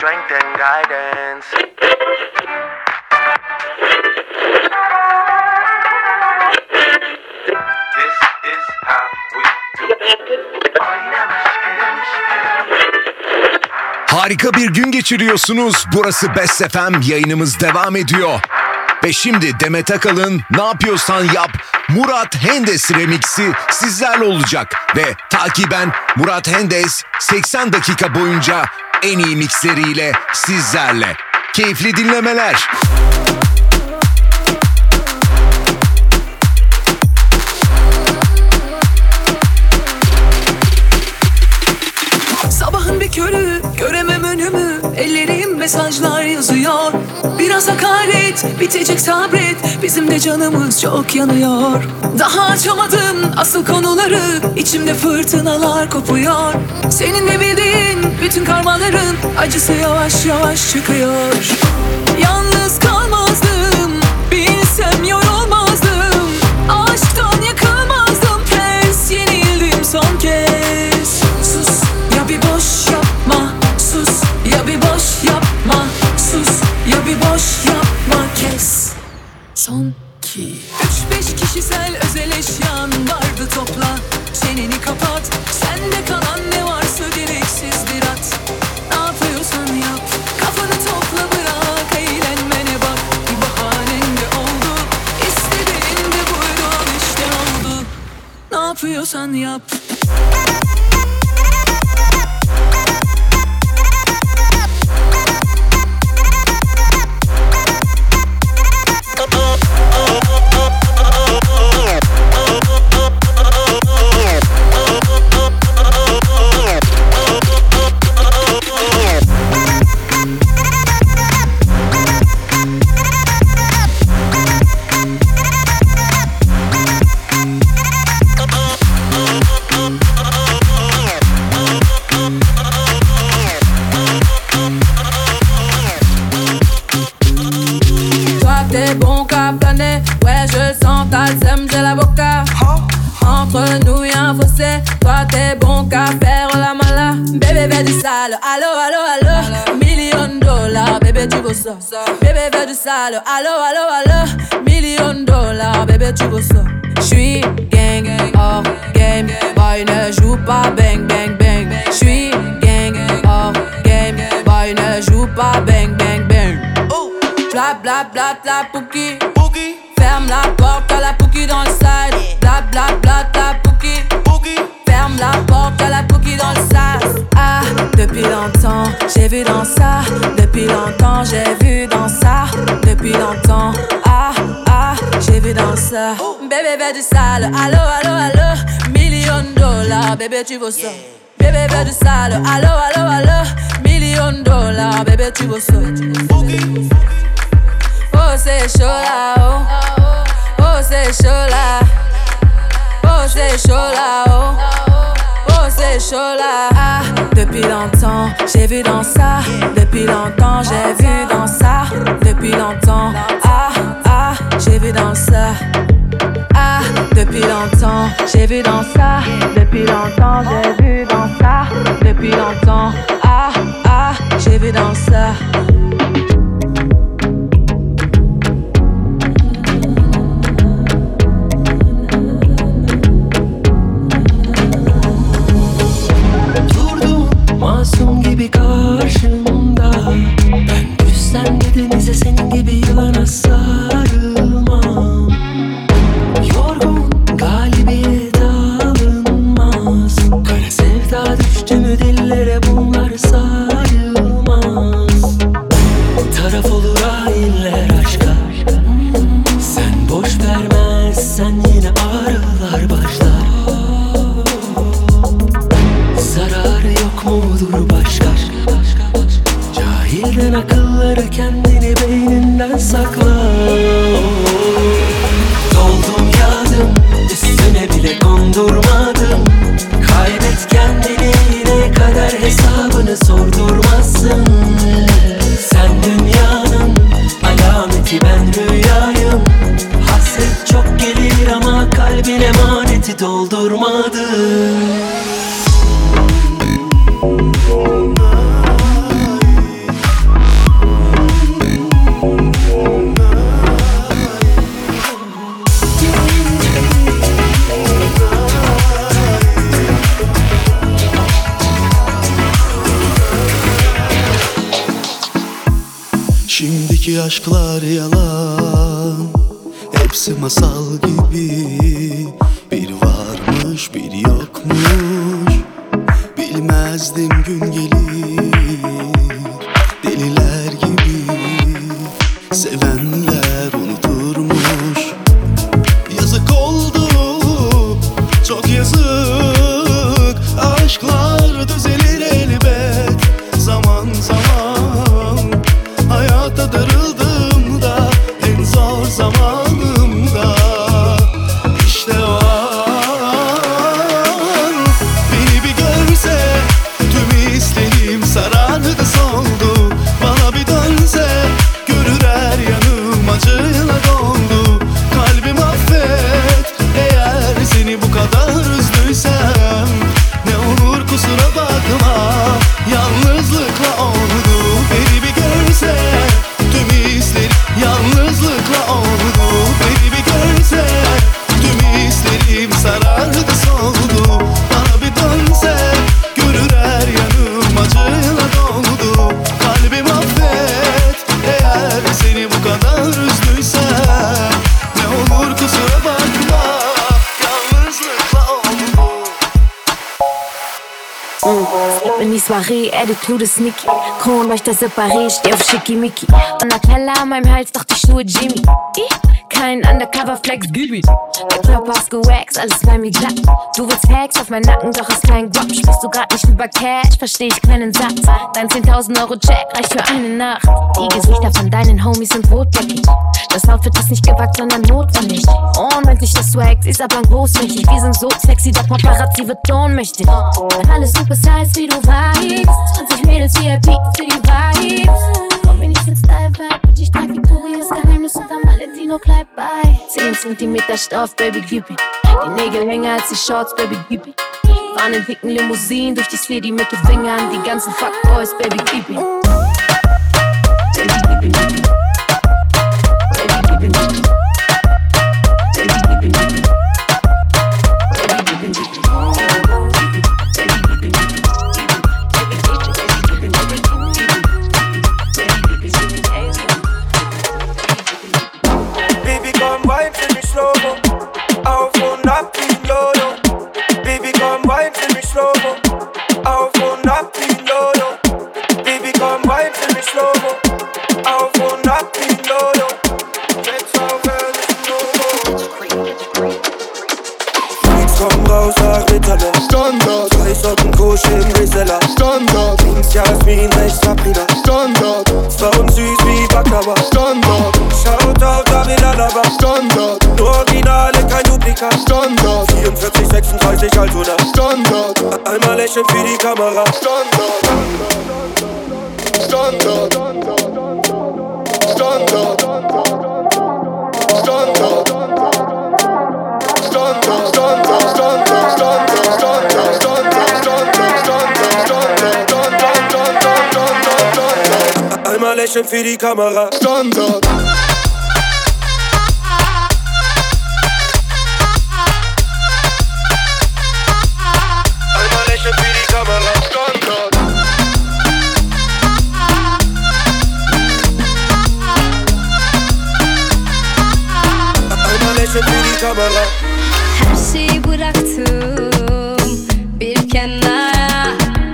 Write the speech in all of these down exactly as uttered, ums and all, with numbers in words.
strength and guidance. This is how we do. Harika bir gün geçiriyorsunuz. Burası Best F M, yayınımız devam ediyor. Ve şimdi Demet Akalın Ne Yapıyorsan Yap Murat Hendes remixi sizlerle olacak. Ve takiben Murat Hendes seksen dakika boyunca en iyi mixleriyle sizlerle. Keyifli dinlemeler. Sabahın bir körü, göremem önümü, ellerim mesajlar yazıyor. Biraz hakaret, bitecek sabret, bizim de canımız çok yanıyor. Daha açamadım asıl konuları, içimde fırtınalar kopuyor. Senin de bildiğin bütün karmaların acısı yavaş yavaş çıkıyor. Yalnız kalmazdım, bilsem yorulmazdım. Aşktan yakılmazdım, pes yenildim son kez. Sus ya bir boş yapma, sus ya bir boş yapma, sus ya bir boş yapma, kes. Son ki üç beş kişisel özel eşyan vardı, topla. Çeneni kapat, sende kalan ne varsa gereksizdir at. Ne yapıyorsan yap, kafanı topla, bırak eğlenmene bak. Bir bahanen de oldu, istediğin de buydu, al işte oldu. Ne yapıyorsan yap. Entre nous y'a un fossé. Toi t'es bon qu'à faire la mala. Bébé fais du sale, allo allo allo. Million dollars, bébé tu veux ça. Bébé fais du sale, allo allo allo. Million dollars, bébé tu veux ça. J'suis gang, hors game. Boy ne joue pas bang bang bang. J'suis gang, hors game. Boy ne joue pas bang bang bang. Bla bla bla bla pouki. Ferme la porte, à la pouki dans le side. Bla bla bla bla pouki. Ferme la porte, à la pouki dans le side. Ah, depuis longtemps, j'ai vu dans ça. Depuis longtemps, j'ai vu dans ça. Depuis longtemps, ah, ah, j'ai vu dans ça. Bébé, fais du sale, allo, allo, allo. Million dollars, bébé, tu veux ça. Bébé, fais du sale, allo, allo, allo. Million dollars, bébé, tu veux ça. Oh c'est chaud là, oh. Oh c'est chaud là. Oh c'est chaud là, oh. Oh c'est chaud là. Ah, depuis longtemps, j'ai vu dans ça. Depuis longtemps, j'ai vu dans ça. Depuis longtemps, ah, ah, j'ai vu dans ça. Ah, depuis longtemps, j'ai vu dans ça. Depuis longtemps, j'ai vu dans ça. Depuis longtemps, ah, ah, j'ai vu dans ça. Masum gibi karşımda, ben düşsem de denize senin gibi yılana sarılmam. Yorgun galibiyet alınmaz. Kara sevda düştü mü dillere bunlar sayılmaz. Taraf olur hainler aşka. Sen boş vermezsen yine ağrılar başlar. Zararı yok mudur başka? Cahilden akılları kendini beyninden sakla. Doldum yağdım, üstüne bile kondurmadım. Kaybet kendini, yine kader hesabını sordurmazsın. Sen dünyanın alameti, ben rüyayım. Hasret çok gelir ama kalbin emaneti doldurmadım. Şimdiki aşklar yalan, hepsi masal gibi. Bir varmış bir yokmuş, bilmezdim gün gelir. Deliler gibi sevenler unuturmuş. Yazık oldu, çok yazık. Aşklar düzelir elbet zaman zaman. Hayata darıldım da en zor zamanımda. İşte o an beni bir görse tüm isteğim sarardı soldu. Bana bir dönse görür her yanım acıyla doldu. Kalbim affet eğer seni bu kadar üzdüysem. Ne olur kusura bakma, yalnızlıkla oldu. Beni bir görse tüm isterim yalnızlıkla oldu. Beni bir görse tüm isterim sarardı soldu. Bana bir dönse görür her yanım acıyla doldu. Kalbim affet eğer seni bu kadar üzdüysem. Ne olur kusura bakma, yalnızlıkla oldu. Slip in die Soiree, Attitude ist sneaky. Kronleuchter separé, steh auf Schickimicki. Und Nutella an meinem Hals, doch die Schuhe Jimmy. Kein Undercover-Flex, Gibi. Der Körper ist gewaxt, alles bei mir glatt. Du willst Hacks auf meinen Nacken, doch ist kein Guap. Sprichst du grad nicht über Cash, versteh ich keinen Satz. Dein zehntausend Euro Check reicht für eine Nacht. Die Gesichter von deinen Homies sind rotbäckig. Das Outfit ist nicht gewagt, sondern notwendig. Unendlicher Swag, sie ist aber großmächtig. Wir sind so sexy, doch Paparazzi wird ohnmächtig. Alles super size, wie du weißt. zwanzig Mädels V I P für die Vibes. Komm mir nicht mit Style-Vibe, und ich trag Victorias Geheimnis unterm Valentino Kleid bei. zehn Zentimeter Stoff, Baby, gib mir. Die Nägel länger als die Shorts, Baby, gib mir. Fahren in dicken Limousinen durch die City mit den Fingern. Die ganzen Fuckboys, Baby, gib mir. Baby, gib mir. Baby, gib mir. Baby, gib mir. Baby, gib mir. Auf und ab wie Lolo. Baby, komm, wein für mich slow-mo. Auf und ab wie Lolo. Baby, komm, wein für mich slow-mo. Auf und ab wie Lolo. Sechs auf ehrlichen Logo. Nichts kommt raus nach Ritalin. Standard. Zwei Socken Kusch im Reseller. Standard. Links Jasmin, rechts Sabrina. Standard. Zwei und süß wie Baklava. Standard. Schaut auf David Alaba. Standard. Nur Originale, kein Duplikat. Standard. vierundvierzig, sechsunddreißig, alt oder Standard. Einmal lächeln für die Kamera. Standard. Standard. Standard. Standard. Standard. Standard, Standard, Standard, Standard, Standard, Standard, Standard, Standard. Einmal lächeln für die Kamera. Standard. Einmal lächeln für die Kamera. Standard. Einmal lächeln für die Kamera. Her şeyi bıraktım bir kenara.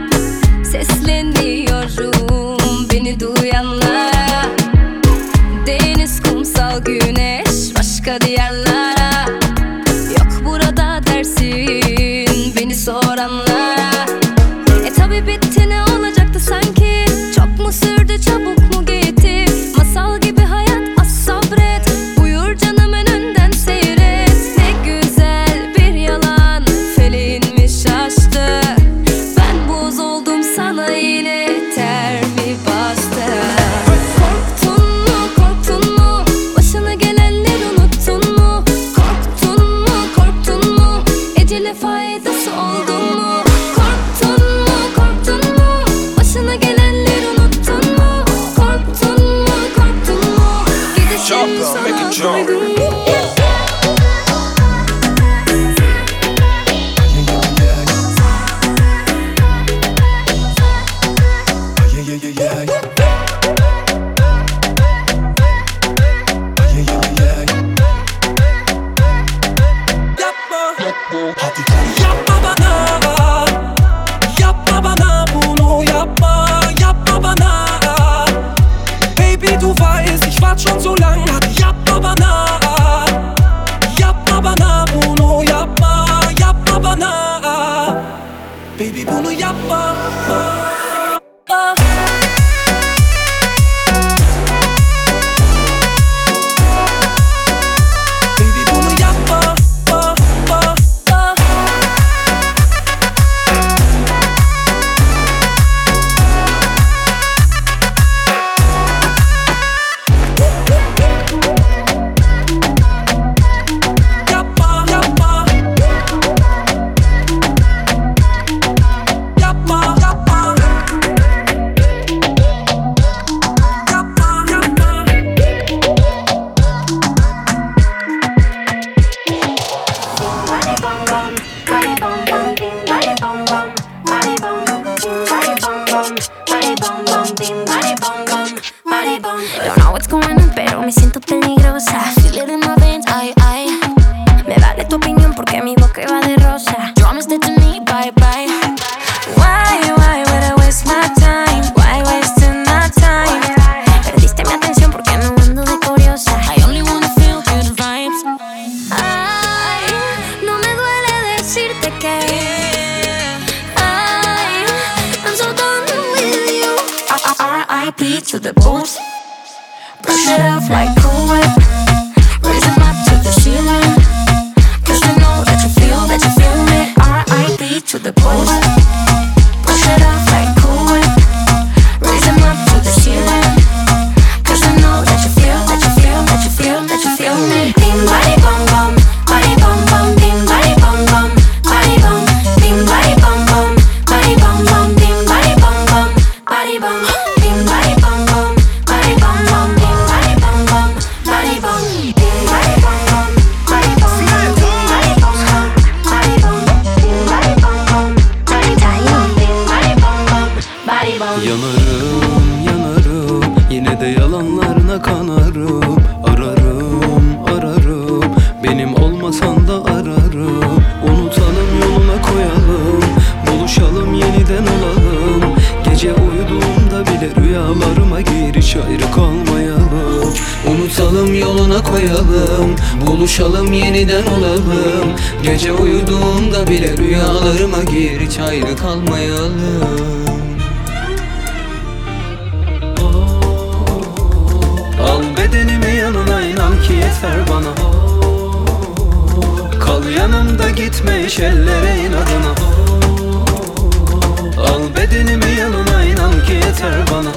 Sesleniyorum beni duyanlara. Deniz, kumsal, güneş, başka diyarlara. Yok burada dersin beni soranlara. E tabi bitti, ne olacaktı sanki? Çok mu sürdü, çabuk mu gitti? Masal gibi hayat, az sabret. Buyur canım önünden seyret. Ne güzel bir yalan, feleğin mi şaştı? Ben buz oldum sana, yine ter mi bastı? Korktun mu, korktun mu? Başına gelenleri unuttun mu? Korktun mu, korktun mu? Ecele faydası oldun mu? Korktun mu, korktun mu? Başına gelenleri unuttun mu? bum, body bum bum, bim, body bum bum, body bum. Don't know what's going on, pero me siento peligrosa. Feel it in my veins, ay, ay. Me vale tu opinión porque mi boca va de rosa. Promise that to me, bye bye. Why, why would I waste my time? Why wasting my time? Perdiste mi atención porque no ando de curiosa. I only wanna feel good vibes. Ay, no me duele decirte que ay, I'm so done with you. R I P to the boots. Brush it off like Cool Whip. Raise them up to the ceiling. Cause you know that you feel, that you feel me. R I P to the boots. Brush it off like Cool Whip. Raise them up to the ceiling. Cause you know that you feel, that you feel, that you feel, that you feel me. Bim body bum bum, body bum bum, bim body bum bum, body bum, bim body bum bum, body bum bum, bim body bum bum, body bum, bim body bum bum, body bum bum, bim body bum bum, body bum, bim body bum bum, body bum, bim body bum bum, body bum, bim body bum bum, body bum, bim body bum bum, body bum. Yanarım, yanarım, yine de yalanlarına kanarım. Ararım, ararım, benim olmasan da ararım. Unutalım, yoluna koyalım, buluşalım, yeniden olalım. Gece uyuduğumda bile rüyalarıma gir, hiç ayrı kalmayalım. Unutalım, yoluna koyalım, buluşalım, yeniden olalım. Gece uyuduğumda bile rüyalarıma gir, hiç ayrı kalmayalım. Al bedenimi yanına, inan ki yeter bana. Kal yanımda, gitme hiç ellere inadına. Al bedenimi yanına, inan ki yeter bana.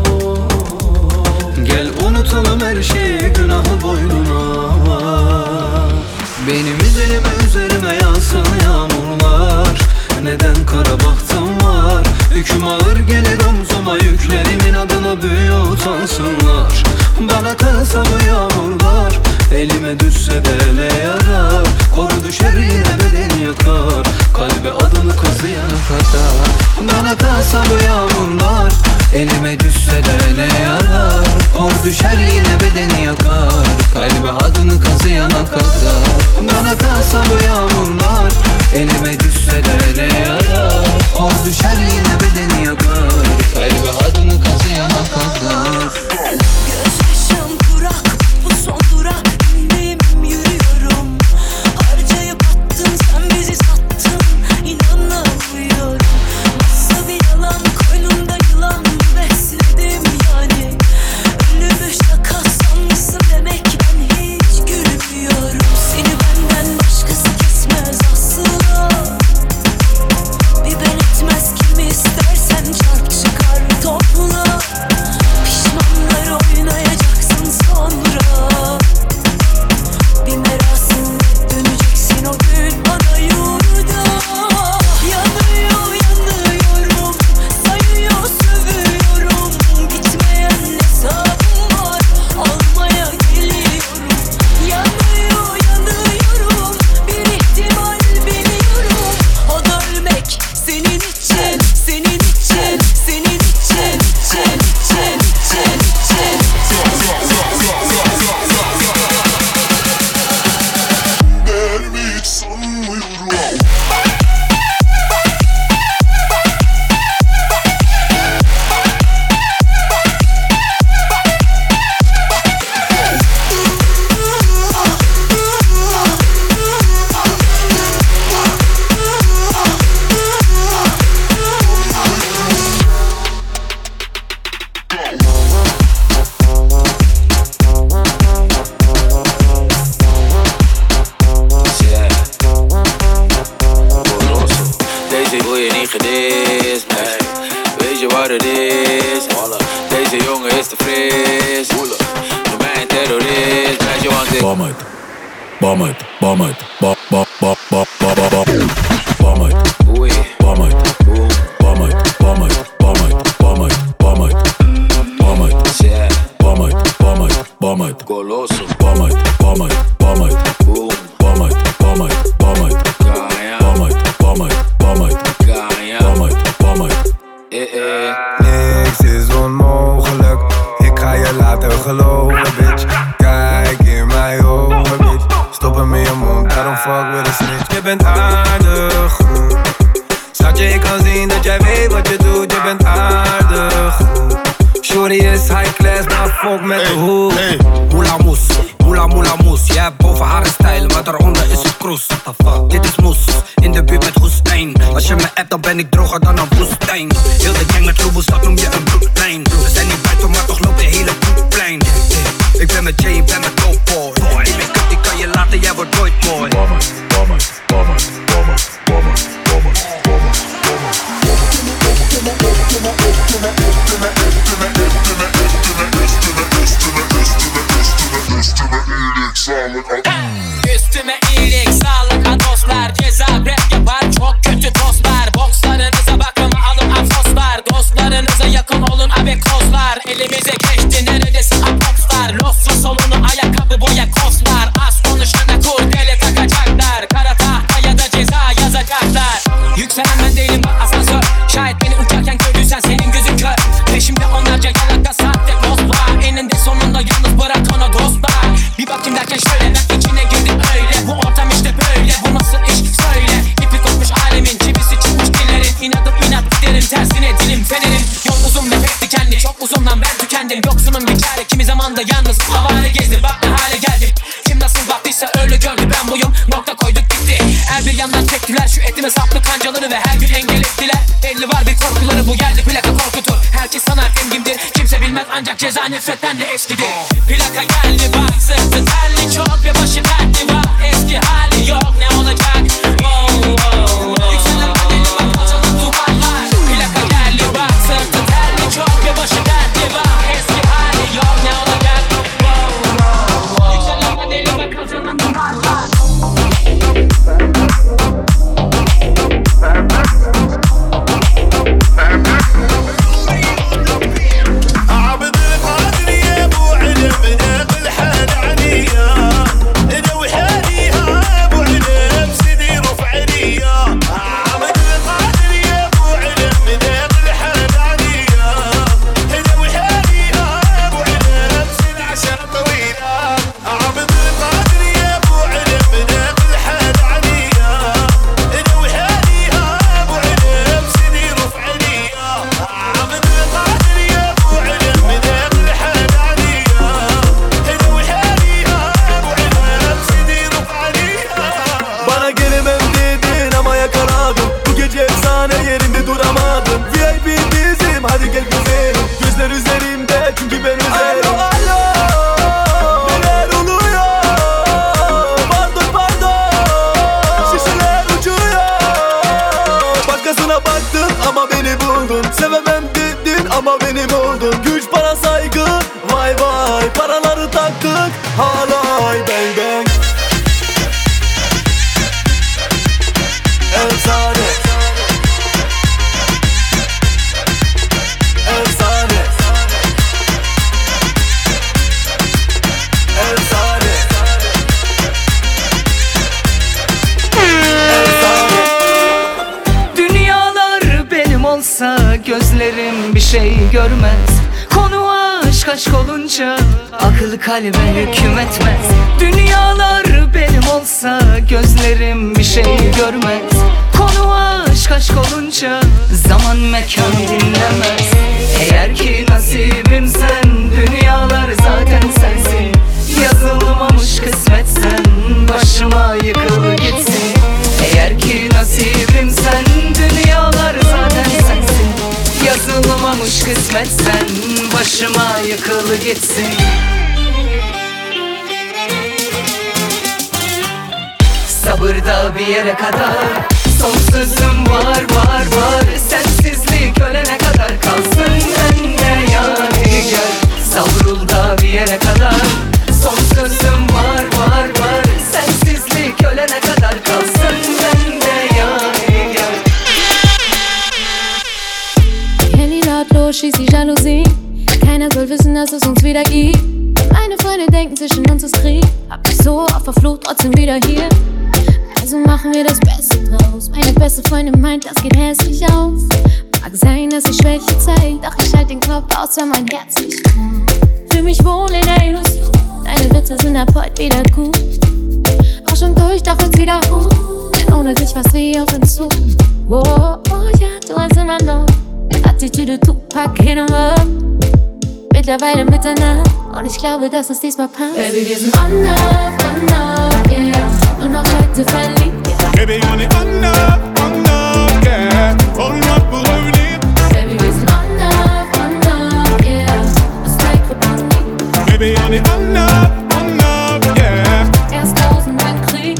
Gel unutalım her şeyi, günahı boynuna. Benim üzerime üzerime yağsın yağmurlar. Neden kara bahtım var? Yüküm ağır gelir omzuma, yüklerimin adına büyü utansınlar. Bana kalsa bu yağmurlar, elime düşse de ne yarar? Koru düşer yine bedeni yakar, kalbe adını kazıyana kadar. Bana kalsa bu yağmurlar, elime düşse de ne yarar? Kor düşer yine bedeni yakar, kalbe adını kazıyana kadar. Bana kalsa bu yağmurlar, elime düşse de ne yarar? Kor düşer yine bedeni yakar, kalbe adını kazıyana kadar. Gözyaşım kurak, bu son durak. İndim yürüyorum. Harcayıp attın, sen bizi sattın. İnanamıyorum. Nasıl bir yalan, koynumda yılan besledim yani. Ölümü şaka sanmışsın demek, ben hiç gülmüyorum. Seni benden başkası kesmez asla. Bir ben etmez, kim istersen çarp çıkar topla. Pişmanlar oynayacaksın sonra. Bir merasimle döneceksin o gün bana yurda. Yanıyor yanıyorum, sayıyor sövüyorum. Gitmeyen hesabım var, almaya geliyorum. Yanıyor yanıyorum, bir ihtimal biliyorum. O da ölmek senin için, senin için, senin için, için, için, için, için. Değerimi hiç sanmıyorum. Deze wil je niet gedist, nee. Weet je wat het is? Deze jongen is te fris. Noem mij een terrorist, meisje, want ik bam uit, bam uit, bam uit, bam, bam, bam, bam, bam, bam, bam uit, Oei, bam uit, boem, bam uit, bam uit, bam uit, bam uit, bam uit, bam uit, yeah, bam uit, bam uit, bam uit, goloso, bam uit, bam uit, bam uit, boem, bam uit, bam uit, bam uit, Gaia, bam uit, bam uit, bam uit, Gaia, bam uit, bam uit. eh eh. yeah. Niks is onmogelijk, ik ga je laten geloven, bitch. Kijk in mijn ogen, bitch. Stop hem in je mond, daarom fuck with a snitch. Je bent aardig, schatje, ik kan zien dat jij weet wat je doet. Je bent aardig. Shorty is high class, maar fuck met de hoek. Hey, moela moes, moela moela moes. Jij hebt boven haar een stijl, maar daaronder is het kroes. What the fuck, dit is moes, in de buurt met Goestijn. Als je me appt, dan ben ik droger dan een woestijn. Heel de gang met roebels, dat noem je een broekplein. We zijn niet buiten, maar toch loopt de hele broekplein. Ik ben met Jay, ik ben met Dope Boy. Ik ben kut, ik kan je laten, jij wordt nooit mooi. Bomber, bomber, bomber, bomber, bomber, bomber, bomber, Üstüme iyilik, sağlık ha dostlar. Ceza rap yapar çok kötü tostlar. Bokslarınıza bakın alın afoslar. Dostlarınıza yakın olun abekozlar. Elimize geçti neredesin apopslar. Loslu solunu ayakkabı boya koslar. Az konuşana kurdele takacaklar. Kara tahta ya da ceza yazacaklar. Yükselen ben değilim bak asansör. Şayet beni uçarken gördüysen senin gözün kör. Peşimde onlarca yalaka sahte post var. Eninde sonunda yalnız bırak ona dostlar. Bir bakayım derken şöyle ben içine girdim öyle. Bu ortam işte böyle, bu nasıl iş söyle. İpi kopmuş alemin, çivisi çıkmış dillerin. İnadım inat giderim tersine dilim fenerim. Yol uzun ve pek dikenli, çok uzundan ben tükendim. Yoksunun bir çare, kimi zaman da yalnız havale gezdim. Bak ne hale geldim, kim nasıl baktıysa öyle gördü. Ben buyum, nokta koyduk gitti. Her bir yandan çektiler şu etime saplı kancaları. Ve her gün engel ettiler, belli var bir korkuları. Bu geldi plaka korkutur, herkes sanar engimdir. Kimse bilmez ancak ceza nefretten de eskidir. Plaka geldi bak sırtı terli çok ve başı dertli var. Eski hali yok ne olacak? Oh, oh, oh. Yükselen bedeli bak açalım duvarlar. Plaka geldi bak sırtı terli çok ve başı dertli var. Eski hali yok ne olacak? Oh, oh, oh. Yükselen bedeli bak açalım duvarlar. عبد القادر يا ابو علم ناقل حال عنيا انا وحاليها ابو علم سيدي رفع عليا عبد القادر يا ابو علم ناقل حال عنيا انا وحاليها ابو علم سيدي عشان طويله عبد القادر يا ابو علم ناقل حال عنيا انا وحاليها ابو علم سيدي رفع عليا عبد القادر يا ابو علم ناقل حال عنيا انا وحاليها ابو علم سيدي رفع عليا. Bana gelemem dedin ama yakaladım. Bu gece efsane yerinde duramadım. V I P bizim hadi gel güzelim. Gözler üzerimde çünkü ben özelim. Alo alo, neler oluyor? Pardon pardon, şişeler uçuyor. Başkasına baktın ama beni buldun. Sevemem dedin ama benim oldun. Güç para saygı, vay vay paraları taktık. Halay bang bang. Efsane, efsane, efsane, efsane. Dünyalar benim olsa gözlerim bir şey görmez. Konu aşk aşk olunca akıl kalbe hüküm etmez. Dünyalar benim olsa gözlerim bir şey görmez. Konu aşk aşk olunca zaman mekan dinlemez. Eğer ki nasibim sen, dünyalar zaten sensin. Yazılmamış kısmetsen başıma yıkıl gitsin. Eğer ki nasibim sen, dünyalar zaten sensin. Yazılmamış kısmetsen başıma yıkıl gitsin. Sabırda bir yere kadar, son sözüm var var var. Sensizlik ölene kadar kalsın bende yadigar. Savrul da bir yere kadar, son sözüm var var var. Sensizlik ölene kadar kalsın bende yadigar. Handy lautlos, schieß die Jalousie. Keiner soll wissen, dass es uns wieder gibt. Meine Freunde denken, zwischen uns ist Krieg. Hab mich so auf der Flucht, trotzdem wieder hier. Also machen wir das Beste draus. Meine beste Freundin meint, das geht hässlich aus. Mag sein, dass ich Schwäche zeig, doch ich halt den Kopf aus, wenn mein Herz nicht kommt. Für mich wohnen in der Illusion, deine Witze sind ab heute wieder gut. Auch schon durch, doch jetzt wieder hoch, denn ohne dich war's wie auf Entzug. Oh, oh ja, du hast immer noch Attitüde, Tupac, hin und her. Mittlerweile Mitternacht und ich glaube, dass es diesmal passt. Baby, wir sind on up, on up, yeah. Und auch heute verliebt, yeah. Baby, on it, on up, on up, yeah. Hold up, we'll hold it. Baby, wir sind on up, on up, yeah. Das Like wird on me. Baby, on it, on up, on up, yeah. Erst tausend Mal Krieg.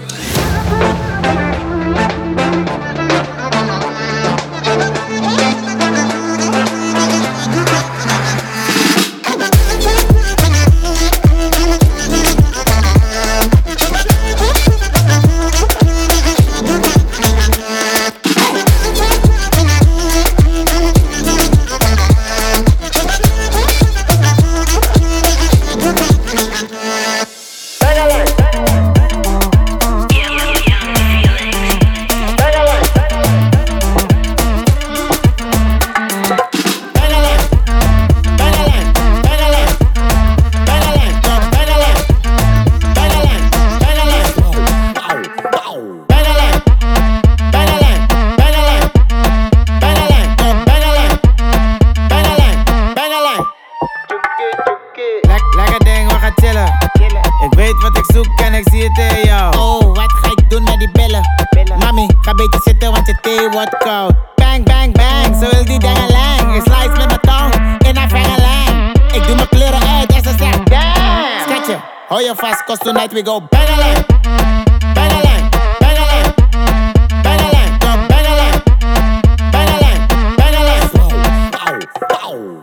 Cause tonight we go bang-a-lang, bang-a-lang, bang-a-lang, bang-a-lang, go bang-a-lang, bang-a-lang, bang-a-lang. Wow, wow.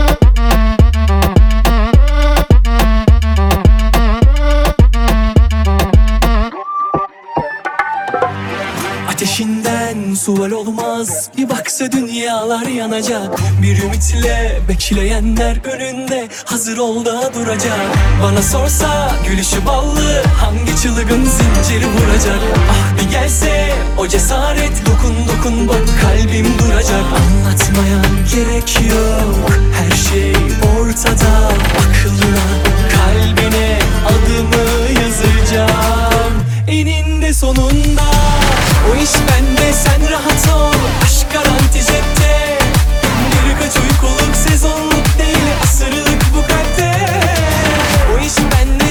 Ateşinden sual olmaz, bir baksa dünyalar yanacak. Bir ümitle bekleyenler önünde hazır ol da duracak. Bana sorsa gülüşü ballı, hangi çılgın zinciri vuracak? Ah bir gelse o cesaret, dokun dokun bak kalbim duracak. Anlatmaya gerek yok, her şey ortada. Aklına kalbine adımı yazacağım, eninde sonunda. O iş bende, sen rahat ol. Aşk garanti cepte. Birkaç uykuluk, sezonluk değil, asırlık bu kalpte. O iş bende.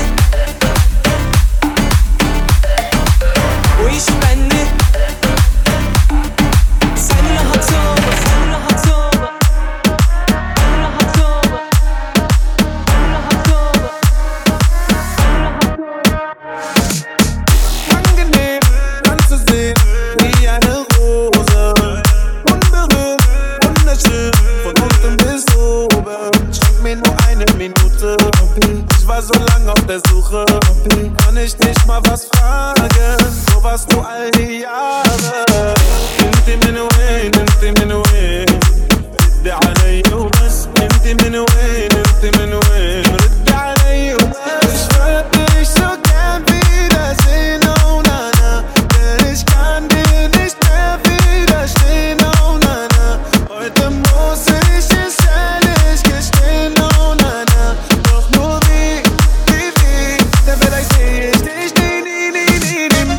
O iş bende. Sen rahat ol, sen rahat ol. Sen rahat ol. Sen rahat ol. Sen rahat ol. Angenehm anzusehen, wie eine Rose. Unberührt, wunderschön, von unten bis oben. Schenk mir nur eine Minute. Ich war so lang auf der Suche. Kann ich dich mal was fragen? Wo warst du all die Jahre? Nimmti min away, nimmti min away. Riddi alayya وبس. Nimmti min away, nimmti min away. Riddi alayya وبس. Ich würde dich so gern wiedersehen, oh na na. Denn ich kann dir nicht mehr widerstehen, oh na na. Heute muss ich es ehrlich gestehen, oh na na. Doch nur wie, wie, wie, denn vielleicht seh ich dich nie, nie, nie, nie, nie.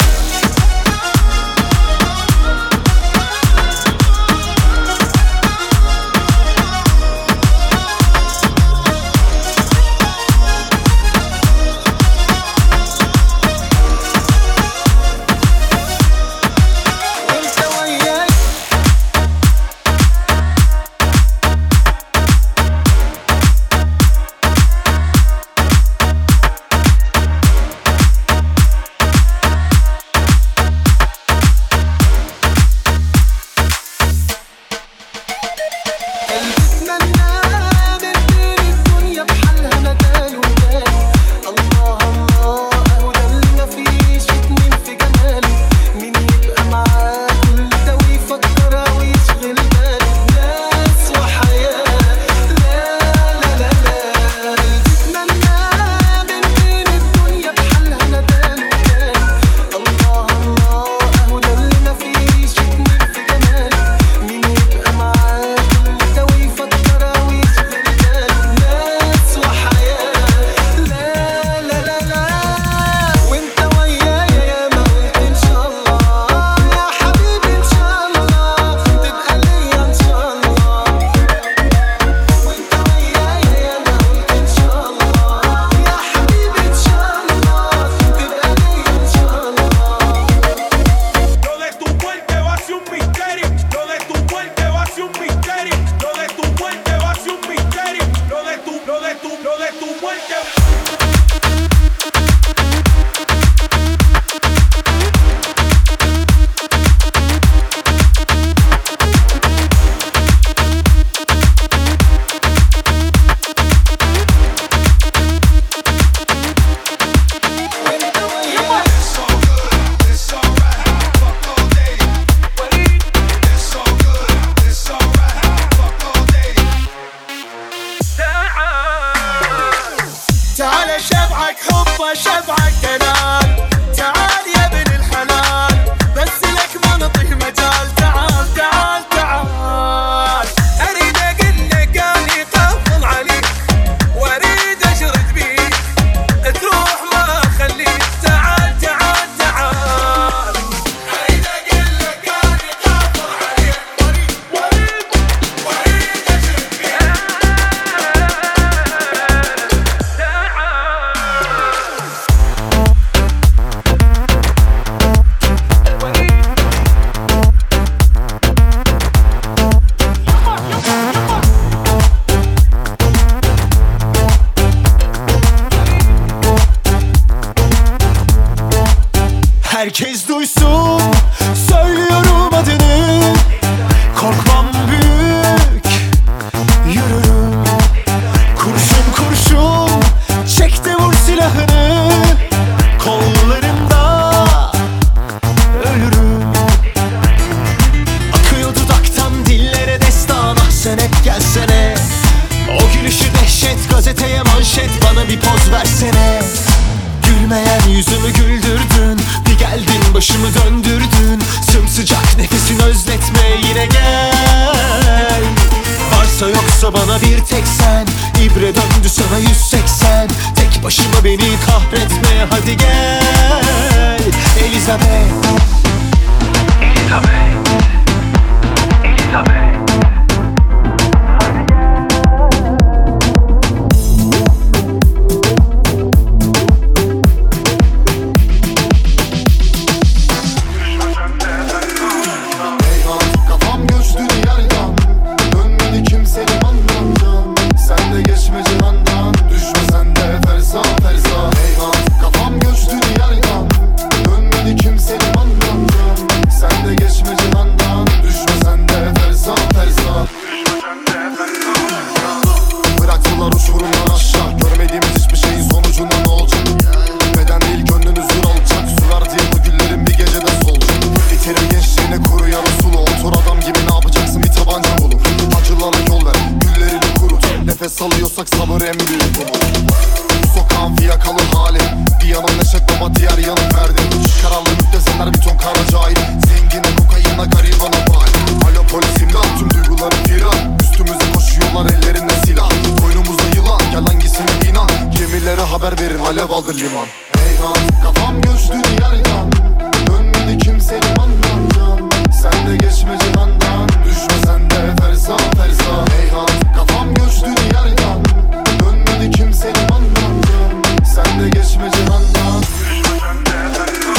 ابغى شبعك كلام تعال يا ابن الحلال بس لك ما نطيه مجال تعال تعال تعال اريد اقول لك اني قافل عليك واريد اشرد بيك تروح ما اخليك تعال تعال تعال اريد اقول لك اني قافل عليك واريد واريد واريد اشرد بيك Herkes duysun, söylüyorum adını. Korkmam büyük, yürürüm. Kurşun kurşun, çek de vur silahını. Kollarımda ölürüm. Akıyor dudaktan dillere destan. Ah sen hep gelsene. O gülüşü dehşet, gazeteye manşet. Bana bir poz versene. Gülmeyen yüzümü güldürdün. Bir geldin başımı döndürdün. Sımsıcak nefesin özletme yine gel. Varsa yoksa bana bir tek sen. İbre döndü sana yüz seksen. Tek başıma beni kahretme hadi gel. Elizabeth Elizabeth Elizabeth salıyorsak sabır en büyük umut. Bu sokağın fiyakalı hali. Bir yanım neşet baba diğer yanım verdi. Karanlık müptezeller bir ton kara cahil. Zengine kokayına garibana bal. Alo polis imdat tüm duygularım firar. Üstümüze koşuyorlar ellerinde silah. Koynumuzda yılan gel hangisine inan. Gemilere haber verin alev aldı liman. Eyvan kafam göçtü diyardan. Dönmedi kimse limandan. Sen de geçme cihandan. Düşme sen de ferza ferza. Eyvan kafam göçtü diyardan. Dönmedi kimse limandan. Sen de geçme cihandan. Düşme sen de ferza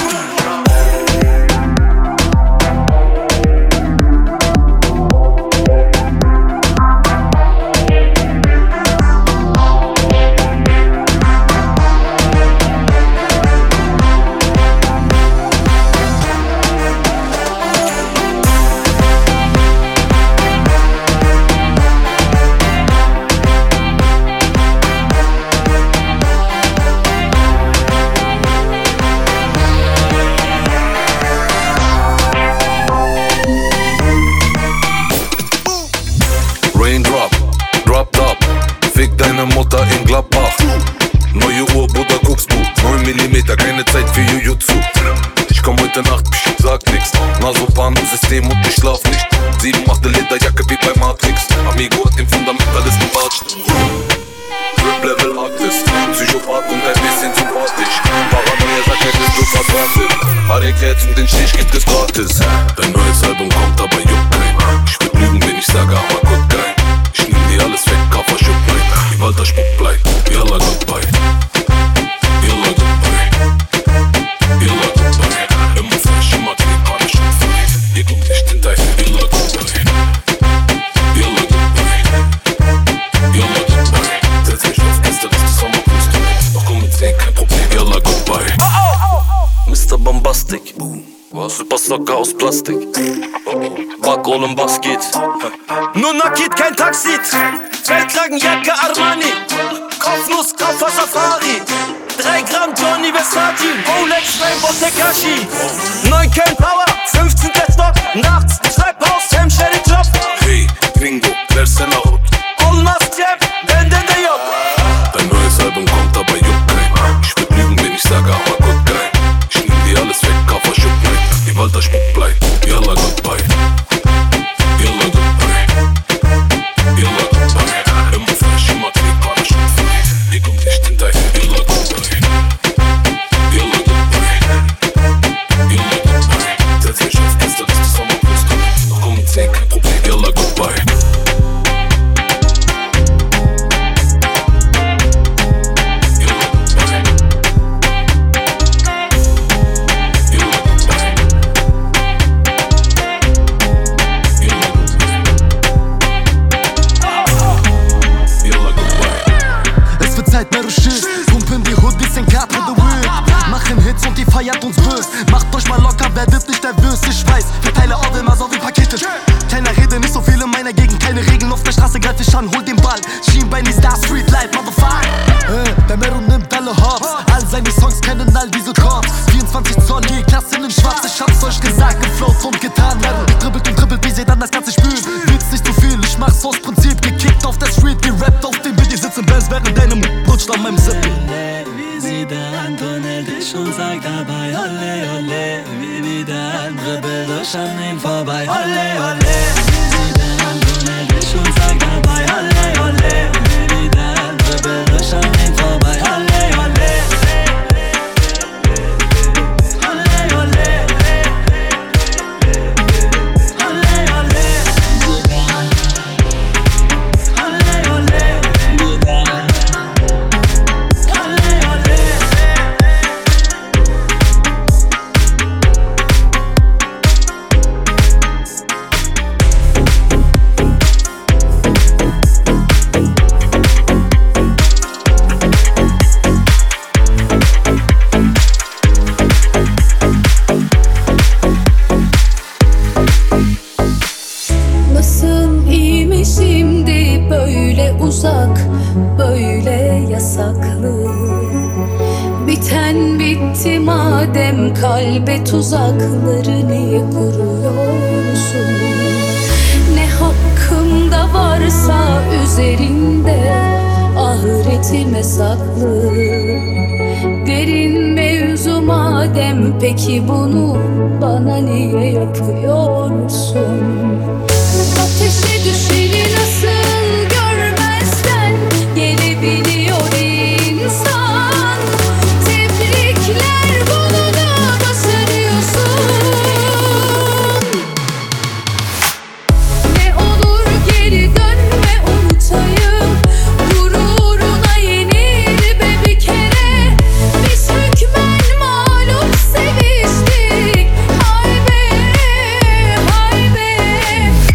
Raindrop, drop top. Fick deine Mutter in Gladbach. Neue Uhr, Bruder, guckst du. neun Millimeter, keine Zeit für Jujutsu. Ich komm heute Nacht, psch, sag nix. Nasopan-System und ich schlaf nicht. Sieben machte Lederjacke wie bei Matrix. Amigo hat den Fundamentalisten Batsch. Rap-Level Artist, Psychopath und ein bisschen sympathisch. Paranoia sagt, er ist so verdrahtet. Harry-Cats und den Stich gibt es gratis. Dein neues Album kommt, aber juckt kein. Ich würd lügen, wenn ich sage, aber gut geil. Ich nehm dir alles weg, Kaffer Schupplein. Wie Walter Spuckblei, Yalla goodbye. Yalla goodbye. Yalla goodbye. Immer fresh, immer clean, alles schon frei. Ihr kommt nicht in dein Yalla goodbye. Yalla goodbye. Yalla goodbye. Setz mich auf Gästeliste, Sommerküste. Doch komm mit zehn, kein Problem, Yalla goodbye. Mister Bombastic, Super Socker aus Plastik. Backohlen, was geht? Nur Nakid, kein Taxi. Feldlagenjacke Armani. Kopfnuss, Koffer Safari. Drei Gramm Johnny Versace. Rolex, Rainbow Tekashi. Neun Ken Power, fünfzehnter Stock. Nachts, Treibhaus, Sam Sherry Job. Hey, Gringo, versene Hut. Olmaz Cem, bende de yok. Dein neues Album kommt, aber juckt kein. Ich würd lügen, feiert uns bös. Macht euch mal locker, werdet nicht nervös. Ich weiß, verteile Orde immer so wie Pakete. Keiner rede, nicht so viel in meiner Gegend. Keine Regeln auf der Straße, greif ich an, hol den Ball. Schienbein ist Star Street Life, motherfucker. Äh, der Mero nimmt alle Hops. All seine Songs kennen all diese Chords. vierundzwanzig Zoll, die Klasse in schwarz. Ich hab's euch gesagt, geflowt und getan. Dribbelt und dribbelt, wie sie dann das Ganze spülen. Willst nicht zu viel, ich mach's aus Prinzip. Gekickt auf der Street, gerappt auf dem Beat. Die sitzen Bands, während deinem rutscht an meinem Sippel. Wie sie der Antonell dich und sagt dabei Olle, olle. Wie wieder ein Dribbel durch an ihm vorbei Olle, olle. Wie sie der Antonell dich und sagt dabei Olle, olle. Wie wieder ein Dribbel durch an ihm vorbei Olle, olle. Olle, olle. Uzak, böyle yasaklı. Biten bitti madem kalbe tuzakları niye kuruyorsun? Ne hakkımda varsa üzerinde ahiretime saklı. Derin mevzu madem peki bunu bana niye yapıyorsun? Ateşe düşeni nasıl gelebiliyor insan. Tebrikler, bunu da başarıyorsun. Ne olur geri dönme, unutayım. Gururuna yenil be bir kere. Biz hükmen mağlup seviştik. Hay be, hay be.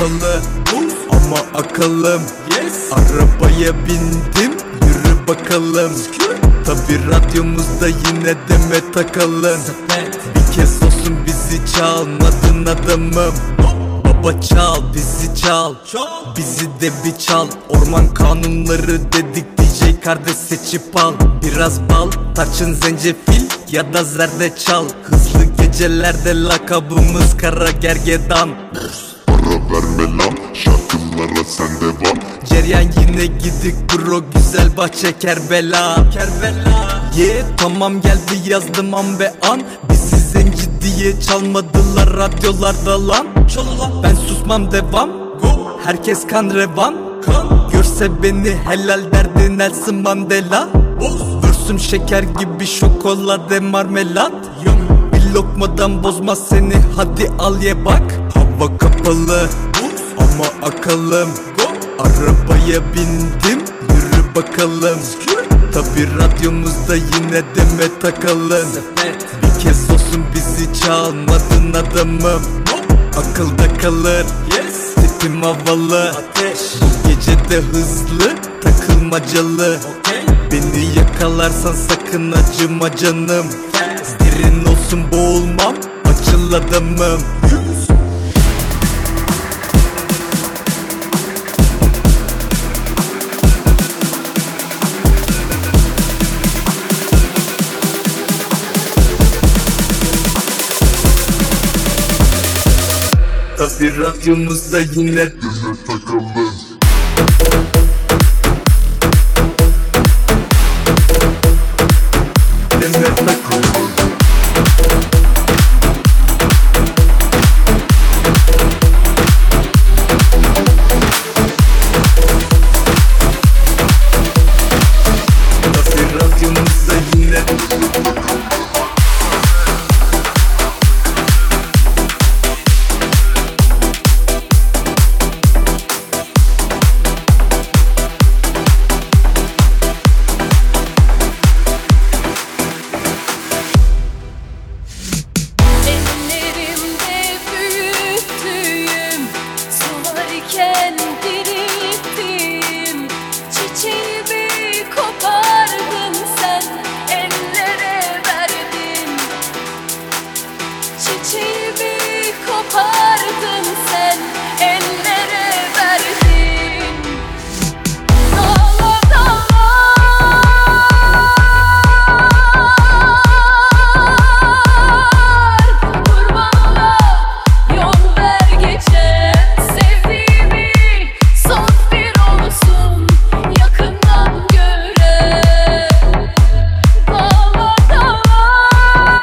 kapalı ama akıllım. Arabaya bindim, yürü bakalım. Tabi radyomuzda yine Demet Akalın. Bir kez olsun bizi çalmadın adamım. Baba çal, bizi çal, bizi de bir çal. Orman kanunları dedik, D J kardeş seçip al. Biraz bal, tarçın, zencefil ya da zerdeçal. Hızlı gecelerde lakabımız Kara Gergedan. Ara verme lan, şarkılara sen devam. Ceryan yine gidik bro, güzel bahçe Kerbela. Kerbela yeah, tamam geldi yazdım an be an. Bizi zenci diye çalmadılar radyolarda lan. Ben susmam devam, herkes kan revan. Görse beni helal derdi Nelson Mandela. Vürsüm şeker gibi şokolade marmelat. Bir lokmadan bozmaz seni, hadi al ye bak. Hava kapalı ama akalım. Arabaya bindim, yürü bakalım. Tabi radyomuzda yine Demet Akalın. Bir kez olsun bizi çalmadın adamım. Akılda kalır, tipim havalı. Bu gece de hızlı, takılmacalı. Beni yakalarsan sakın acıma canım. Derin olsun boğulmam, açıl adamım. Tabi radyomuzda yine Demet Akalın. Demet Akalın. Tabi radyomuzda yine Ellerimde büyüttüğüm, sularken dirilttiğim çiçeğimi kopardın sen, ellere verdin. Çiçeğimi kopardın sen, ellere verdin. Dağlar yol ver geçen sevdiğimi, son bir olsun yakından gören. Dağlar dağlar,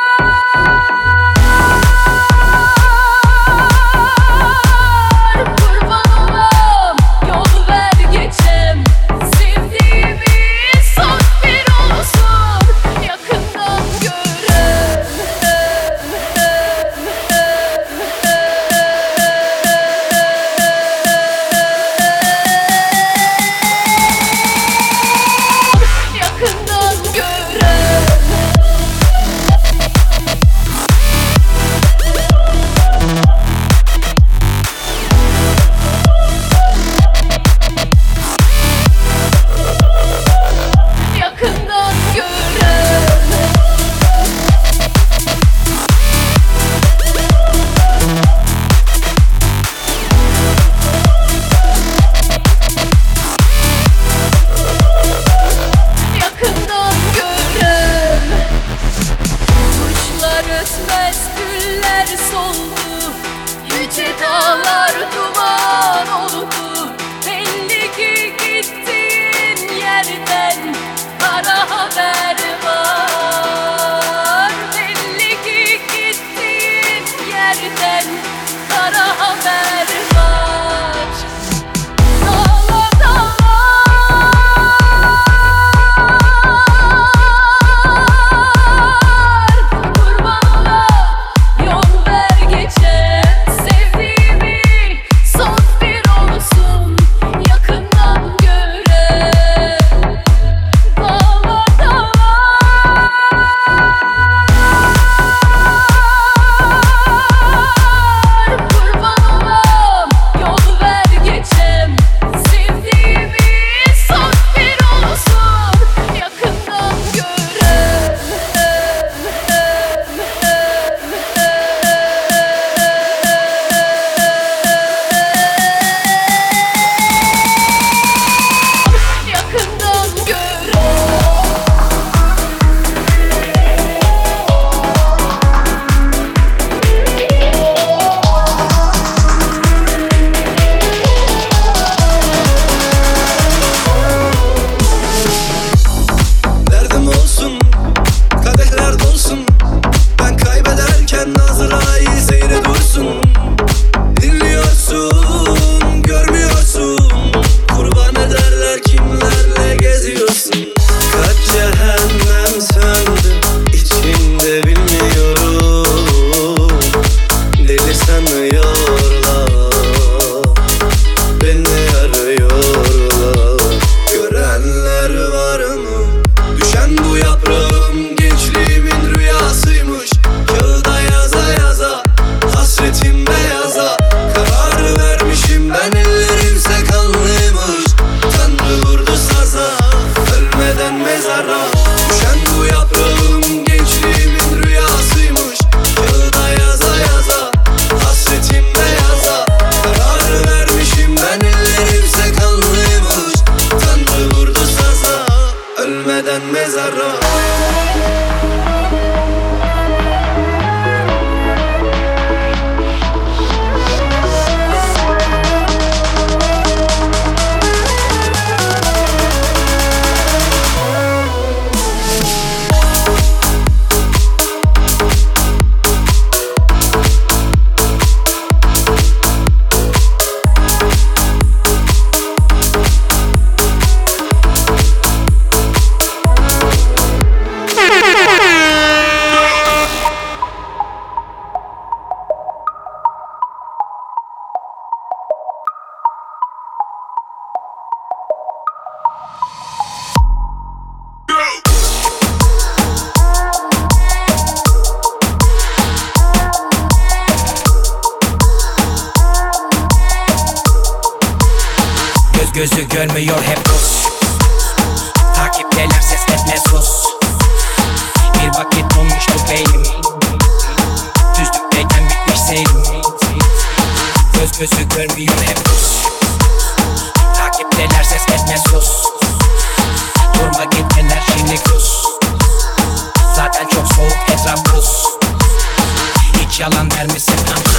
kurban olam, yol ver geçen sevdiğimi, son bir olsun yakından gören. Yakından gören. Yakından gören. Yakından gören. Kuşlar ötmez, güller soldu, yüce dağlar duman oldu. Belli ki gittiğin yerden kara haber var. Belli ki gittiğin yerden kara haber var. Dağlar dağlar, kurban olam, yol ver geçen sevdiğimi, son bir olsun yakından gören. Dağlar dağlar, kurban olam, daha iyi seyre dursun. Dinliyorsun, görmüyorsun. Kurban ederler kimlerle geziyorsun. Kaç cehennem söndü içinde bilmiyorum. Deli sanıyorlar, beni arıyorlar. Görenler var mı? Düşen bu yaprağım gençliğimin rüyasıymış. Kağıda yaza yaza, hasretim beyaza. Karar vermişim ben, ellerimse kanlıymış. Tanrı vurdu saza, ölmeden mezara. Düşen bu yaprağım gençliğimin rüyasıymış. Kağıda yaza yaza, hasretim beyaza. Karar vermişim ben, ellerimse kanlıymış. Tanrı vurdu saza, ölmeden mezara. Göz gözü görmüyor hep Rus. Takipteler ses etme sus. Bir vakit donmuştu beynim. Düzlükteyken bitmiş seyrim. Göz gözü görmüyor hep Rus. Takipteler ses etme sus. Durma git enerjini kus. Zaten çok soğuk etraf buz. Hiç yalan der misin ama?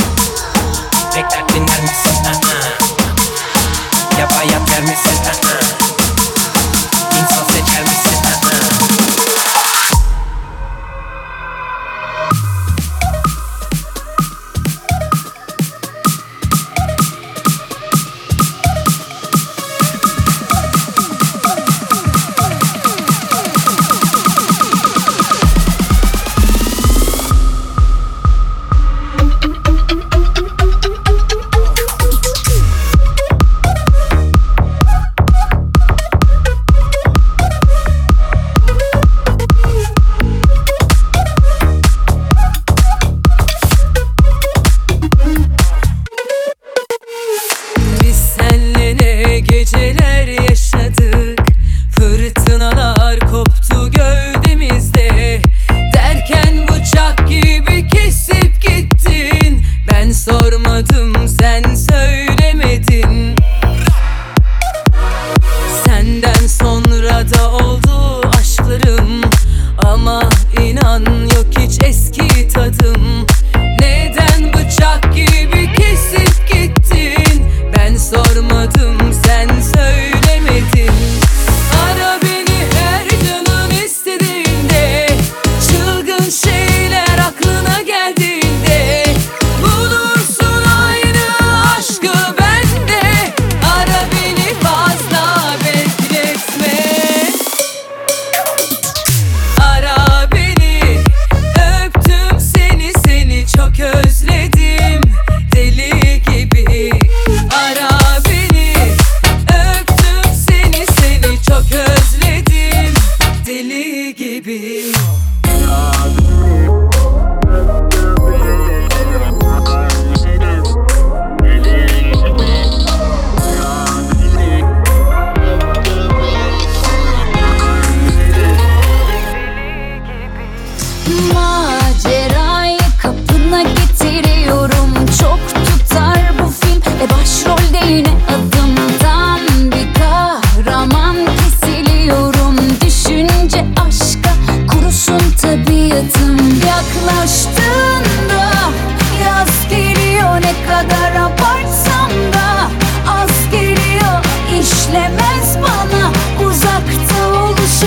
Bekler dinler misin ama? Ya bayat der misin ama? İnsan seçer misin ama?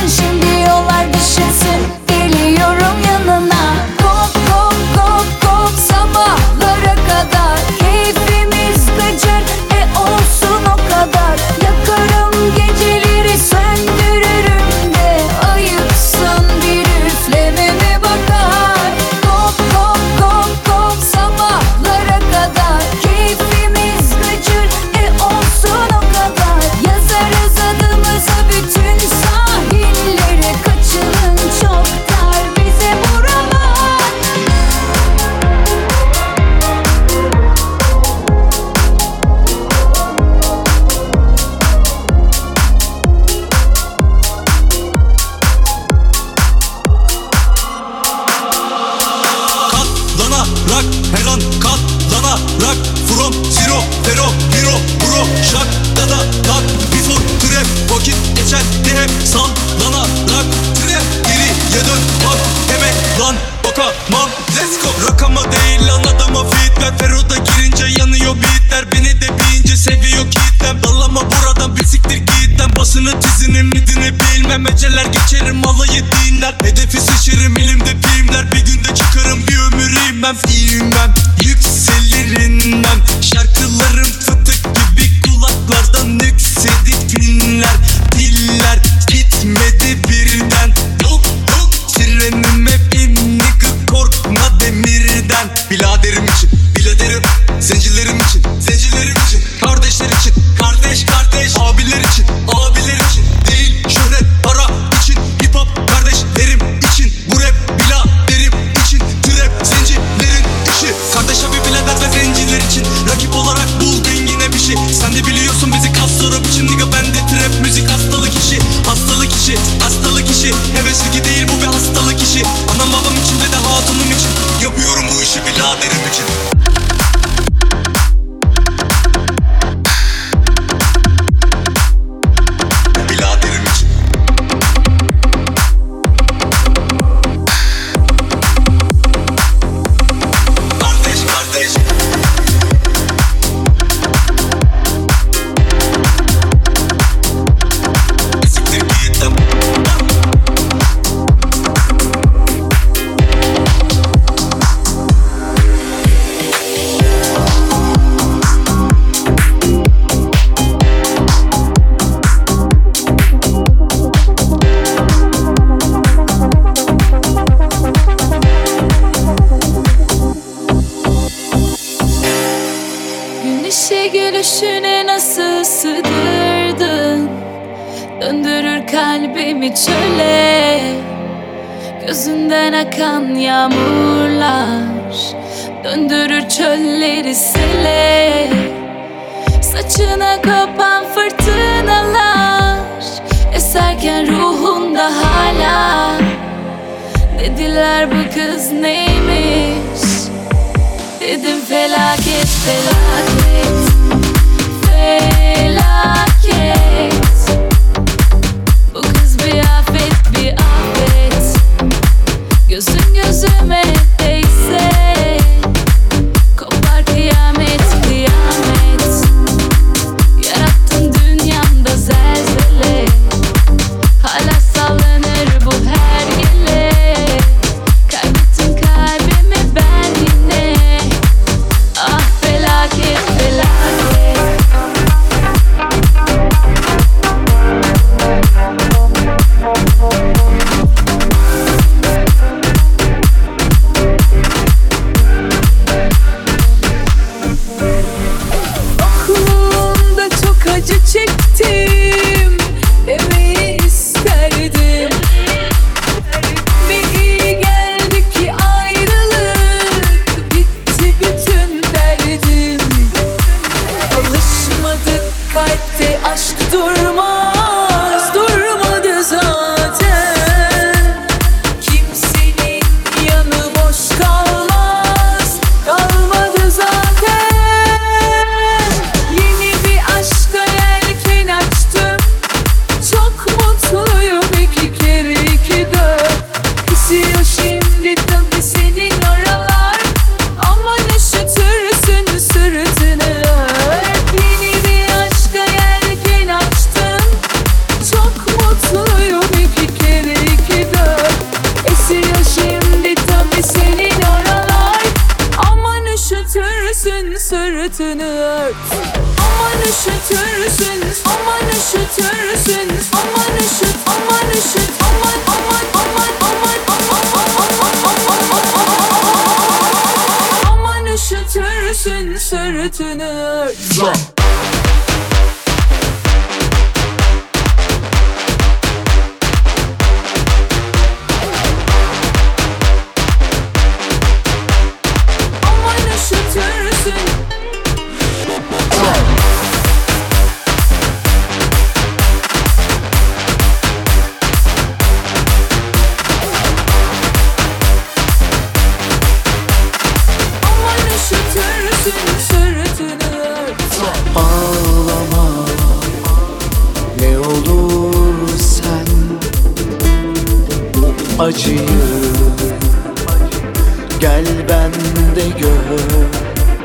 Go, go, go, go. ver Fero'da girince yanıyor beatler. Beni de bilince seviyor kitlem. Dallama buradan bir siktir gitten. Basını tizini midini bilmem. Eceler geçerim alayı dinler. Hedefi sıçırım elimde filmler. Bir günde çıkarım bir ömür inmem. İnmem yükselirim ben. Şarkılarım fıtık gibi kulaklardan yüksedik dinler. Diller gitmedi birden. Yok yok trenime bin nigga korkma demirden. Biladerim için biladerim. Zencilerim için zencilerim için. Kardeşler için kardeş kardeş. Abiler için abiler için. Değil şöhret para için. Hip hop kardeşlerim için. Bu rap biladerim için. Trap zencilerin işi. Kardeş abi bilader ve zenciler için. Rakip olarak bul dengine bir şey. Sen de biliyorsun bizi kas sorup için. Nigga bende trap müzik hastalık işi. Hastalık işi hastalık işi. Hevesli değil bu bir hastalık işi. Anam babam için ve de hatunum için. Yapıyorum bu işi biladerim için. Biladerim için. Kardeş kardeş. Siktir gittim. Gün işe gülüşüne nasıl sığdırdın? Döndürür kalbimi çöle. Gözünden akan yağmurlar döndürür çölleri sele. Saçına kopan fırtınalar eserken ruhunda hala. Dediler bu kız neymiş? Dedim felaket felaket felaket. Bu kız bir afet bir afet. Gözün gözüme değse kopar kıyamet kıyamet. Yarattın dünyamda zelzele. Hala sallanır bu her gele. Kaybettin kalbimi ben yine. Ah felaket felaket. Okulunda çok acı çektim demeyi isterdim. Bir iyi geldi ki ayrılık bitti bütün derdim. Alışmadık kalpte aşk durmaz, durmadı zaten. Kimsenin yanı boş kalmaz, kalmadı zaten. Yeni bir aşka yelken açtım. Çok mutluyum iki kere iki dört. Esiyor şimdi tabii senin oralar. Aman üşütürsün sırtını ört. Yeni bir aşka yelken açtım. Çok mutluyum iki kere iki dört. Esiyor şimdi tabii senin oralar. Aman üşütürsün sırtını ört. Aman üşütürsün, aman üşütürsün, aman üşüt, aman üşüt, aman aman aman aman aman aman aman üşütürsün sırtını ört. Aman üşütürsün. Aman üşütürsün sırtını ört. Ağlama ne olur sen acıyı gel bende gör.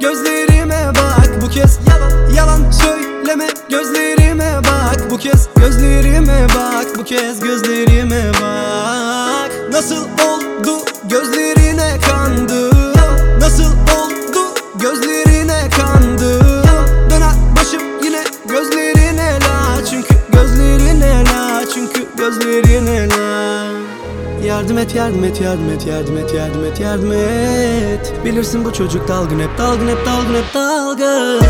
gözlerime bak. Bu kez yalan yalan söyleme, gözlerime bak. Bu kez gözlerime bak, bu kez gözlerime bak. Nasıl oldu gözlerine kandım, nasıl oldu gözlerine kandım. Döner başım yine gözlerine la, çünkü gözlerine la, çünkü gözlerine la. Yardım et, yardım et, yardım et, yardım et, yardım et, yardım et. Bilirsin bu çocuk dalgın hep, dalgın hep, dalgın hep, dalgın.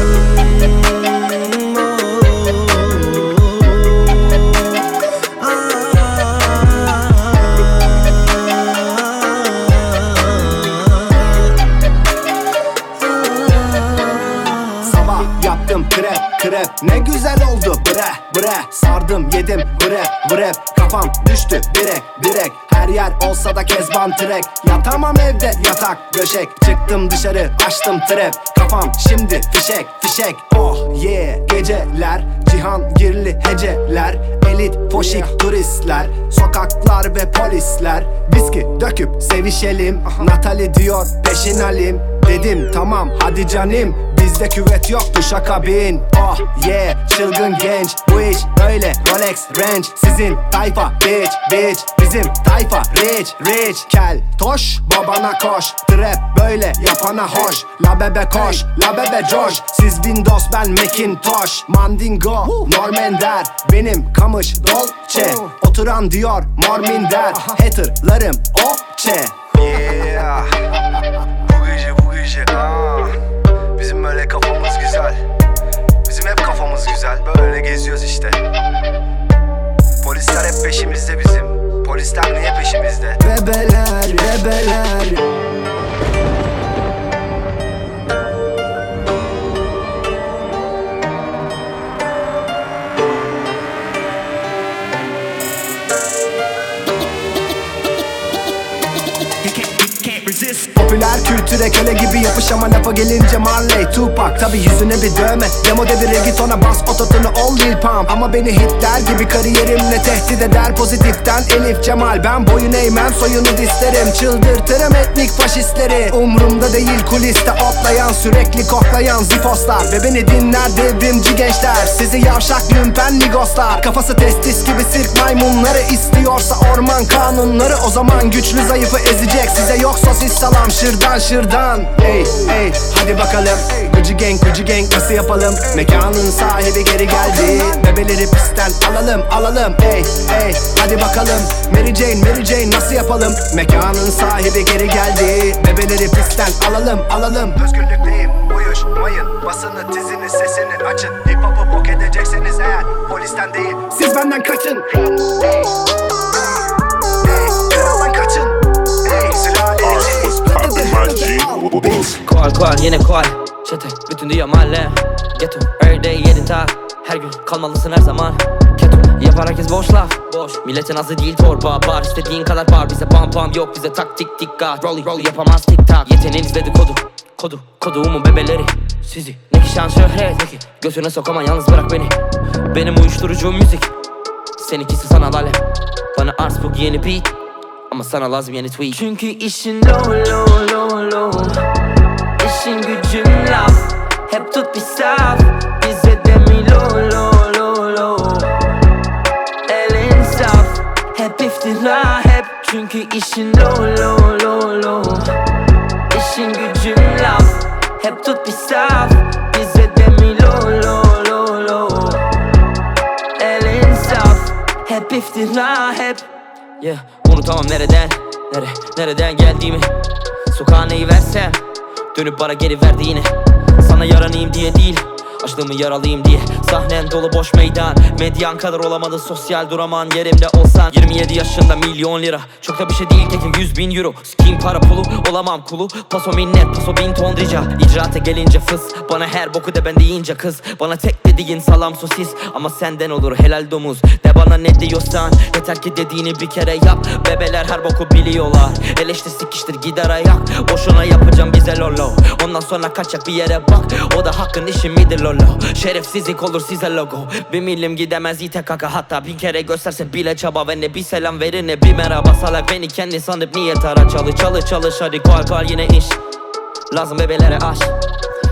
Krep krep ne güzel oldu bre bre. Sardım yedim bre bre. Kafam düştü direk direk. Her yer olsa da kezban trek. Yatamam evde yatak döşek. Çıktım dışarı açtım trap. Kafam şimdi fişek fişek. Oh yeah geceler. Cihangirli heceler. Elit poşik turistler. Sokaklar ve polisler. Viski döküp sevişelim. Natali diyor peşin alim. Dedim tamam hadi canim. Bizde küvet yok duşa kabin. Oh yeah çılgın genç. Bu iş böyle Rolex Range. Sizin tayfa bitch bitch. Bizim tayfa rich rich. Kel toş babana koş. Trap böyle yapana hoş. La bebe koş la bebe coş. Siz Windows ben Macintosh. Mandingo Normender. Benim kamış Dolce. Oturan diyor Morminder. Haterlarım Oçe. Yeah. Bu gece bu gece ah. Bizim böyle kafamız güzel. Bizim hep kafamız güzel. Böyle geziyoruz işte. Polisler hep peşimizde bizim. Polisler niye peşimizde? Bebeler, bebeler. Popüler kültüre köle gibi yapış ama lafa gelince Marley, Tupac. Tabi yüzüne bir dövme, demo devire git ona bas ototunu ol Lil Pump. Ama beni Hitler gibi kariyerimle tehdit eder pozitiften Elif Cemal. Ben boyun eğmem soyunu dislerim, çıldırtırım etnik faşistleri. Umrumda değil kuliste otlayan sürekli koklayan zifoslar. Ve beni dinler devrimci gençler, sizi yavşak lümpen migoslar. Kafası testis gibi sirk maymunları, istiyorsa orman kanunları. O zaman güçlü zayıfı ezecek, size yok sosis salam şırdan şırdan. Ey ey hadi bakalım, gıcı gang gıcı gang nasıl yapalım? Mekanın sahibi geri geldi, bebeleri pistten alalım alalım. Ey ey hadi bakalım, Mary Jane Mary Jane nasıl yapalım? Mekanın sahibi geri geldi, bebeleri pistten alalım alalım. Özgürlükteyim uyuşmayın, basını dizini sesini açın. Hip hop'u bok edecekseniz eğer polisten değil siz benden kaçın. Ey ey kraldan kaçın. Ey Koal koal yine koal. Çete bütün dünya mahalle. Ghetto every day yedin tak. Her gün kalmalısın her zaman. Keto yapar herkes boş laf. Boş milletin azı değil torba. Bar istediğin kadar bar. Bize pam pam yok, bize tak tik tik gat. Rolly rolly yapamaz tik tak. Yeteneğiniz dedikodu. Kodu koduğumun bebeleri. Sizi ne ki şan şöhret ne ki götüne sokamam, yalnız bırak beni. Benim uyuşturucu müzik, seninkisi sanal alem. Bana arts bu yeni beat, ama sana lazım yeni tweet. Çünkü işin low low low low. İşin gücün laf. Hep tut bir saf. Bize de mi low low low low. Elin saf. Hep iftira hep. Çünkü işin low low low low. İşin gücün laf. Hep tut bir saf. Bize de mi low low low low. Elin saf. Hep iftira hep. Yeah, unutamam nereden, nere, nereden geldiğimi. Sokağa neyi versem, dönüp bana geri verdi yine. Sana yaranayım diye değil, açlığımı yaralıyım diye. Sahnen dolu boş meydan, medyan kadar olamadı sosyal duraman. Yerimde olsan yirmi yedi yaşında milyon lira. Çok da bir şey değil keke yüz bin euro. Sikiyim para pulu, olamam kulu. Paso minnet, paso bin ton rica. İcraata gelince fıs, bana her boku de ben deyince kız. Bana tek dediğin salam sosis, ama senden olur helal domuz. De bana ne diyorsan, yeter ki dediğini bir kere yap. Bebeler her boku biliyorlar, eleştir sikiştir gider ayak. Boşuna yapacağım bize lolo, ondan sonra kaçak bir yere bak. O da hakkın işi midir lolo? Şerefsizlik olur size logo. Bir milim gidemez ite kaka, hatta bin kere gösterse bile çaba. Ve ne bir selam verir ne bir merhaba. Salak beni kendi sanıp niye tara. Çalı çalı çalış hadi koal koal yine iş. Lazım bebelere aş.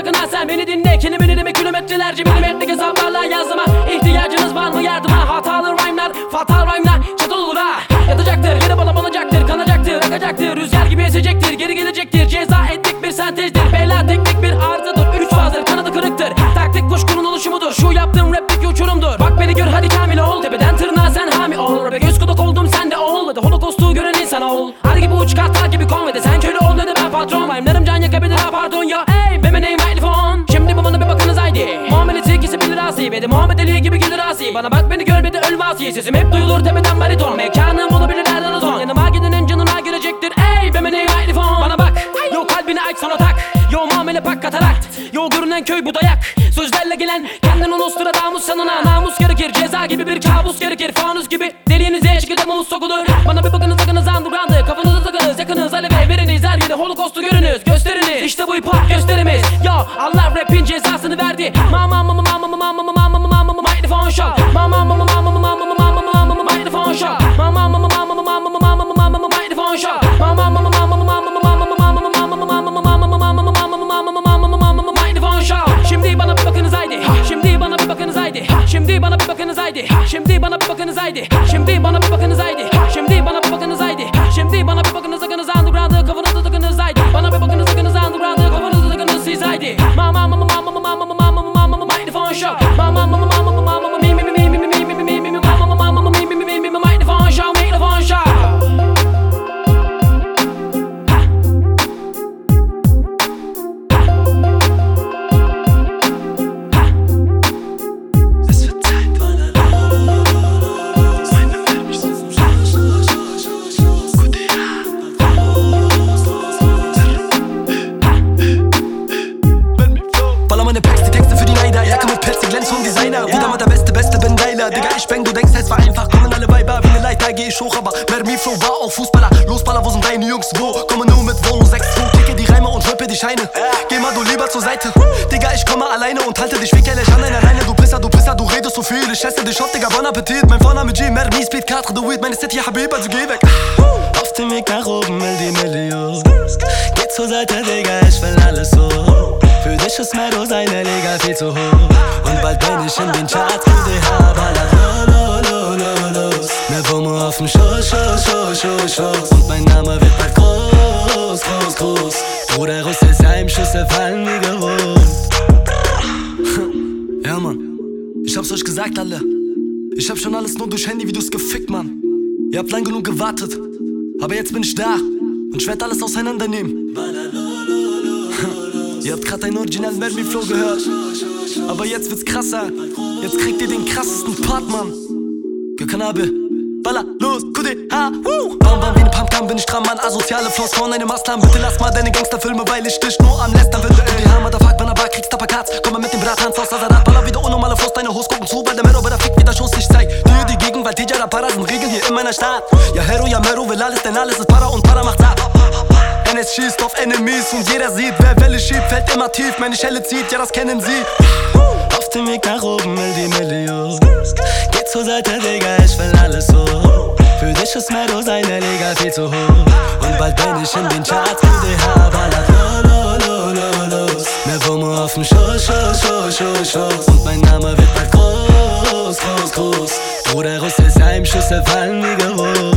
sakın ha sen beni dinle. Kelimeni demek kilometrelerce milimetrelik hesaplarla yazdıma. İhtiyacınız var mı yardıma? Hatalı rhyme'lar, fatal rhyme'lar çatal olur ha. Yatacaktır, yere bala banacaktır, kanacaktır, akacaktır. Rüzgar gibi esecektir, geri gelecektir. Ceza ettik bir sentezdir, beyler teknik bir arızadır. Üç fazdır, kanadı kırıktır, taktik kuşkunun oluşumudur. Şu yaptığım raplik uçurumdur. Bak beni gör hadi kamil ol, tepeden tırnağa sen hami ol. Rap'e göz kulak oldum sen de ol, ve de holokostu gören insan ol. Ar gibi uç kartal gibi konvede sen köle ol, ne de ben patron. Rhyme'larım can yakabilir ha pardon ya. Ey benim name mikrofon. Şimdi bu bana bir bakınız haydi. Muamelesi ikisi bilir asi, ve de Muhammed Ali gibi gelir asi. Bana bak beni gör, ve de öl vasi. Sesim hep duyulur tepeden bariton. Mekanım olabilir nereden ozon. Yanıma gidenin canına girecektir. Ey benim name mikrofon. Bana bak, yo kalbini aç sonra tak. Yo muamele pak katarakt. Yo görünen köy bu dayak. Sözlerle gelen kendin ulustura damus sanına. Namus gerekir, ceza gibi bir kabus gerekir. Fanus gibi deliğinize şekilde mulus sokulur. Bana bir bakınız sakınız underground'ı. Kafanızı takınız yakınız aleve veriniz. Her yerde holokostu görünüz gösteriniz. İşte bu hip hop gösterimiz. Yo Allah rapin cezasını verdi. Mama mama mama mama mama mama mama mama microphone shot. Mama mama mama mama mama mama mama microphone shot. Mama mama mama mama mama mama mama mama microphone shot. Mama mama mama mama mama mama Şimdi bana bir bakınız haydi. Şimdi bana bir bakınız haydi. Şimdi bana bir bakınız haydi. Şimdi bana bir bakınız haydi. Şimdi bana bir bakınız haydi. Şimdi bana bir bakınız haydi. Şimdi bana bir bakınız sakınız underground'ı kafanızı takınız haydi. Bana bir bakınız sakınız underground'ı kafanızı takınız siz haydi. Mama mama mama mama mama mama mama mama microphone show. Mama mama mama mama mama mi mi mi mi mi mi mi mi mi mi mama mama mama mi mi mi mi mi microphone show microphone show. Ich bang, du denkst, es war einfach, kommen alle Weiber wie eine Leiter, geh ich hoch, aber Mermi-Flow war auch Fußballer. Losballer, wo sind deine Jungs, wo? Komme nur mit Wohnung sechs zwei, kicke die Reime und rippe die Scheine. Geh mal du lieber zur Seite, Digga, ich komme alleine und halte dich wickerlich an einer Leine. Du Pisser, du Pisser, du redest so viel, ich esse dich auf, Digga, bon Appetit. Mein Vorname G, Mermi, Speed, Quatre, the Weed, meine City, Habib, also geh weg. Auf dem Weg nach oben, will die Million. Geh zur Seite, Digga, ich will alles so. Für dich ist Meadow seine Liga viel zu hoch. Und bald bin ich in den Charts, Q D H, ballert lo, lo, lo, los. Mehr Wumme auf dem Schoß, Schoß, Schoß, Schoß, Schoß. Und mein Name wird bald groß, groß, groß. Bruder Russ ist Heimschüsse fallen wie gewohnt. Ja, Mann, ich hab's euch gesagt, alle. Ich hab schon alles nur durch Handyvideos gefickt, Mann. Ihr habt lang genug gewartet, aber jetzt bin ich da und ich werd alles auseinandernehmen. Ihr habt grad einen originalen Mermi-Flow gehört, aber jetzt wird's krasser. Jetzt kriegt ihr den krassesten Part, Mann. Gekanabe, Baller, los, Q D H, woo! Bam, bam, wie ne Pumpgun bin ich dran, Mann. Asoziale Flows von einem Maslam. Bitte lass mal deine Gangsterfilme, weil ich dich nur am Lästern finde. Q D H, Motherfuck, wenn er war, kriegst Tapakats. Komm mal mit dem Brathans aus Azarat. Baller wieder unnormale Flows, deine Hose gucken zu, weil der Mero bei der Fick wieder Schuss. Ich zeig dir die Gegenwart, T J, da Para sind Regeln hier in meiner Stadt. Ja, Hero, ja, Mero will alles, denn alles ist Para und Para macht satt. N S schießt auf Enemies und jeder sieht, wer Welle schiebt, fällt immer tief, meine Schelle zieht, ja das kennen sie. Auf dem Weg nach oben will die Million. Geh zur Seite, Digga, ich will alles so. Für dich ist Meadow seine Liga viel zu hoch. Und bald bin ich in den Charts, Q D H, ballert lo, lo, lo, lo, los. Mehr Wumme auf dem Schoß, Schoß, Schoß, Schoß, Schoß. Und mein Name wird bald groß, groß, groß. Bruder Russ ist Heimschüsse fallen wie gewohnt.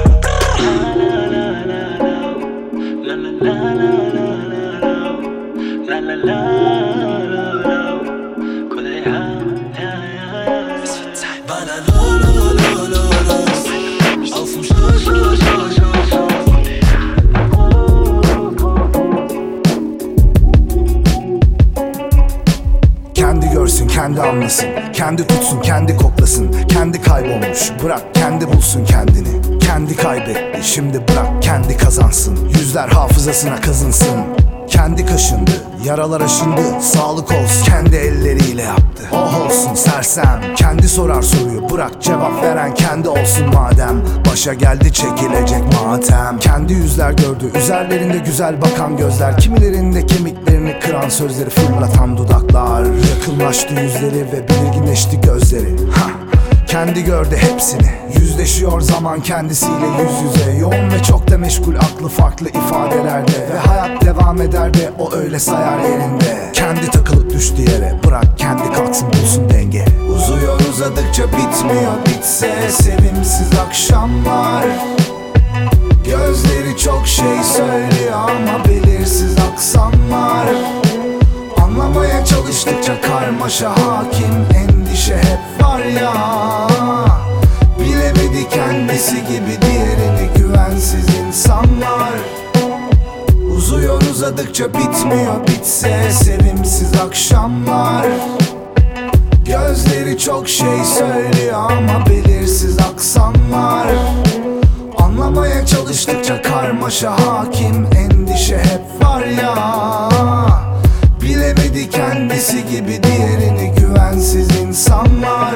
Kendi görsün, kendi anlasın, kendi tutsun, kendi koklasın. Kendi kaybolmuş, bırak kendi bulsun kendini. Kendi kaybetti, şimdi bırak kendi kazansın. Yüzler hafızasına kazınsın. Kendi kaşındı, yaralar aşındı. Sağlık olsun, kendi elleriyle yaptı. Oh olsun sersem, kendi sorar soruyu. Bırak cevap veren kendi olsun madem. Başa geldi çekilecek matem. Kendi yüzler gördü, üzerlerinde güzel bakan gözler. Kimilerinde kemiklerini kıran sözleri fırlatan dudaklar. Yakınlaştı yüzleri ve belirginleşti gözleri. Ha. kendi gördü hepsini. Yüzleşiyor zaman kendisiyle yüz yüze. Yoğun ve çok da meşgul, aklı farklı ifadelerde. Ve hayat devam eder de o öyle sayar yerinde. Kendi takılıp düştü yere, bırak kendi kalksın bulsun denge. Uzuyor uzadıkça bitmiyor, bitse sevimsiz akşamlar. Gözleri çok şey söylüyor ama belirsiz aksanlar. Anlamaya çalıştıkça karmaşa hakim, endişe hep var ya. Bilemedi kendisi gibi diğerini güvensiz insanlar. Uzuyor uzadıkça bitmiyor, bitse sevimsiz akşamlar. Gözleri çok şey söylüyor ama belirsiz aksanlar. Anlamaya çalıştıkça karmaşa hakim, endişe hep var ya. Bilemedi kendisi gibi diğerini güvensiz insanlar.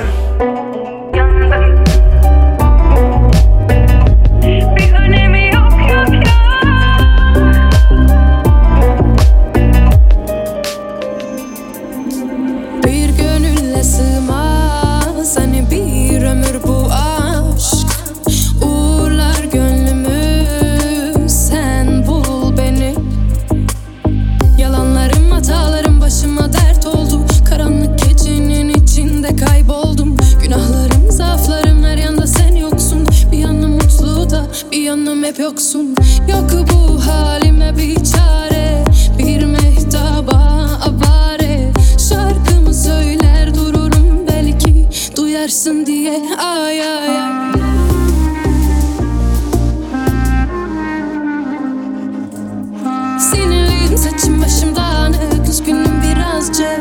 Bir önemi yok yok yok. Bir gönülle sığmaz hani bir ömür bu aşk. Uğurlar gönlümü, sen bul beni. Yalanlarım, hatalarım başıma dert oldu. Karanlık gecenin içinde kayboldum. Günahlarım, zaaflarım, her yanda sen yoksun. Bir yanım mutlu da bir yanım hep yoksun. Yok bu halime bir çare, bir mehtaba avare. Şarkımı söyler dururum belki duyarsın diye. Ay ay ay. Sinirliyim, saçım başım dağınık, üzgünüm birazcık.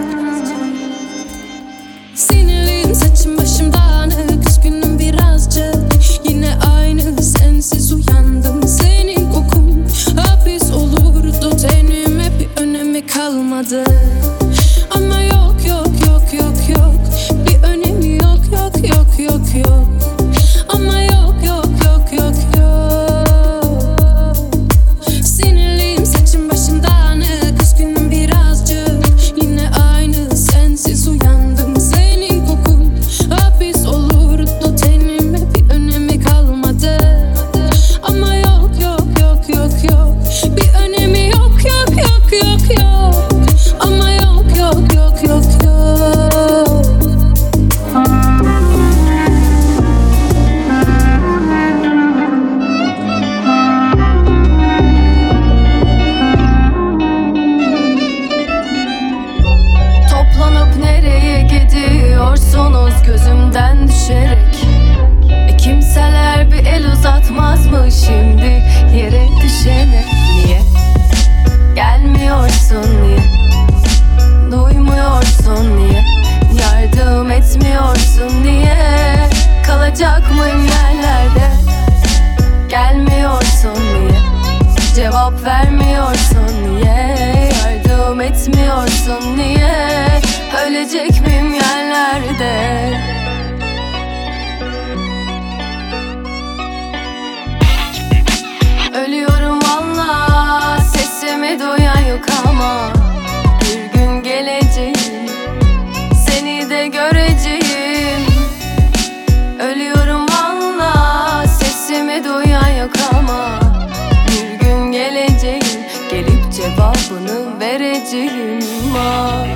Sinirliyim, saçım başım dağınık, üzgünüm birazcık. Yine aynı sensiz uyandım, senin kokun hapis olurdu tenime, bir önemi kalmadı. Ama yok yok yok yok yok, bir önemi yok yok yok yok yok. Ama yok yok yok yok yok. Sinirliyim, saçım başım dağınık, üzgünüm birazcık. Yine aynı sensiz uyandım, senin kokun hapis olurdu tenime, bir önemi kalmadı. Ama yok yok yok yok yok, bir önemi yok yok yok yok yok. Ama yok yok yok yok yok. Toplanıp nereye gidiyorsunuz gözümden düşerek? E kimseler bir el uzatmaz mı şimdi yere düşene? Niye gelmiyorsun, niye duymuyorsun, niye yardım etmiyorsun, niye kalacak mıyım yerlerde? Gelmiyorsun, niye cevap vermiyorsun, niye yardım etmiyorsun, niye ölecek miyim yerlerde? Ölüyorum valla, sesimi duyan yok ama bir gün geleceğim, seni de göreceğim. Ölüyorum valla, sesimi duyan yok ama bir gün geleceğim, gelip cevabını vereceğim. Ah.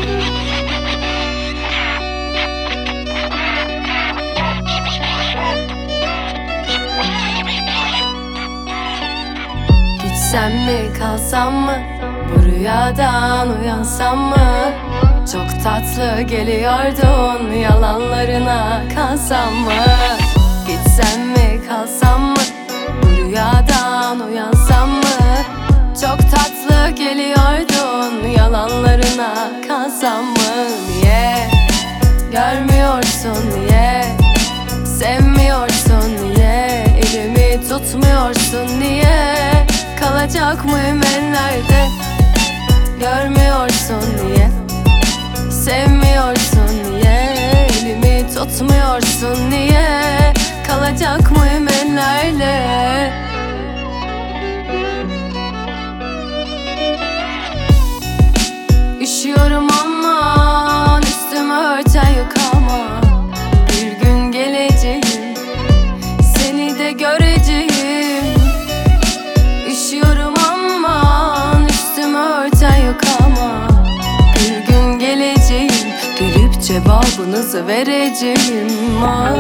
Gitsem mi kalsam mı, bu rüyadan uyansam mı? Çok tatlı geliyordun, yalanlarına kalsam mı? Gitsem mi kalsam mı, bu rüyadan uyansam mı? Çok tatlı geliyordun, yalanlarına kalsam mı? Niye görmüyorsun, niye sevmiyorsun, niye elimi tutmuyorsun, niye kalacak mıyım ellerde? Görmüyorsun, niye sevmiyorsun, niye elimi tutmuyorsun, niye kalacak mıyım ellerde? Üşüyorum aman, üstüme örten yok ama bir gün cevabınızı vereceğim. Ah.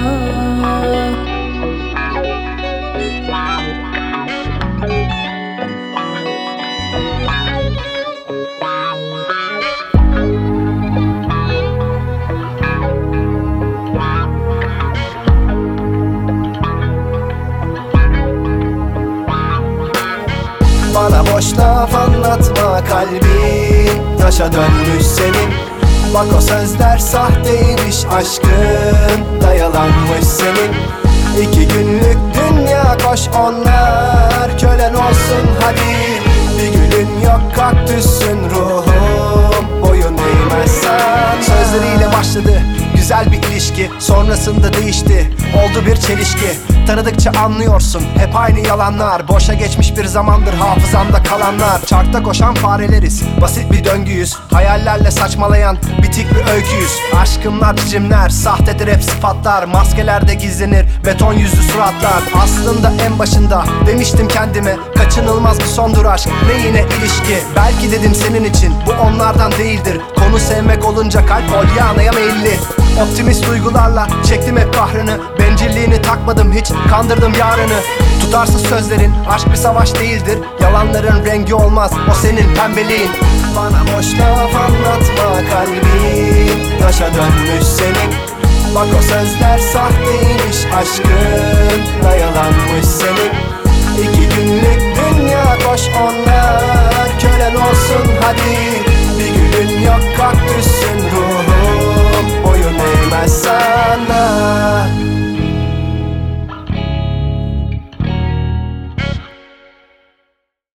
Bana boş laf anlatma, kalbin taşa dönmüş senin. Bak o sözler sahteymiş, aşkın da yalanmış senin. İki günlük dünya, koş onlar kölen olsun hadi. Bir gülün yok, kaktüsün ruhum, boyun eğmezsen. Sözleriyle başladı güzel bir ilişki, sonrasında değişti, oldu bir çelişki. Tanıdıkça anlıyorsun hep aynı yalanlar, boşa geçmiş bir zamandır hafızamda kalanlar. Çarkta koşan fareleriz, basit bir döngüyüz, hayallerle saçmalayan bitik bir öyküyüz. Aşkımlar cicimler, sahtedir hep sıfatlar, maskelerde gizlenir beton yüzlü suratlar. Aslında en başında demiştim kendime, kaçınılmaz bir sondur aşk, ne yine ilişki. Belki dedim senin için bu onlardan değildir, konu sevmek olunca kalp Polyana'ya meyilli. Optimist duygularla çektim hep kahrını, bencilliğini takmadım hiç, kandırdım yarını. Tutarsız sözlerin, aşk bir savaş değildir, yalanların rengi olmaz o senin pembeliğin. Bana boş laf anlatma, kalbin taşa dönmüş senin. Bak o sözler sahteymiş, aşkın da yalanmış senin. İki günlük dünya, koş onlar kölen olsun hadi. Bir gülün yok, kaktüsün ruhum, boyun eğmezsen.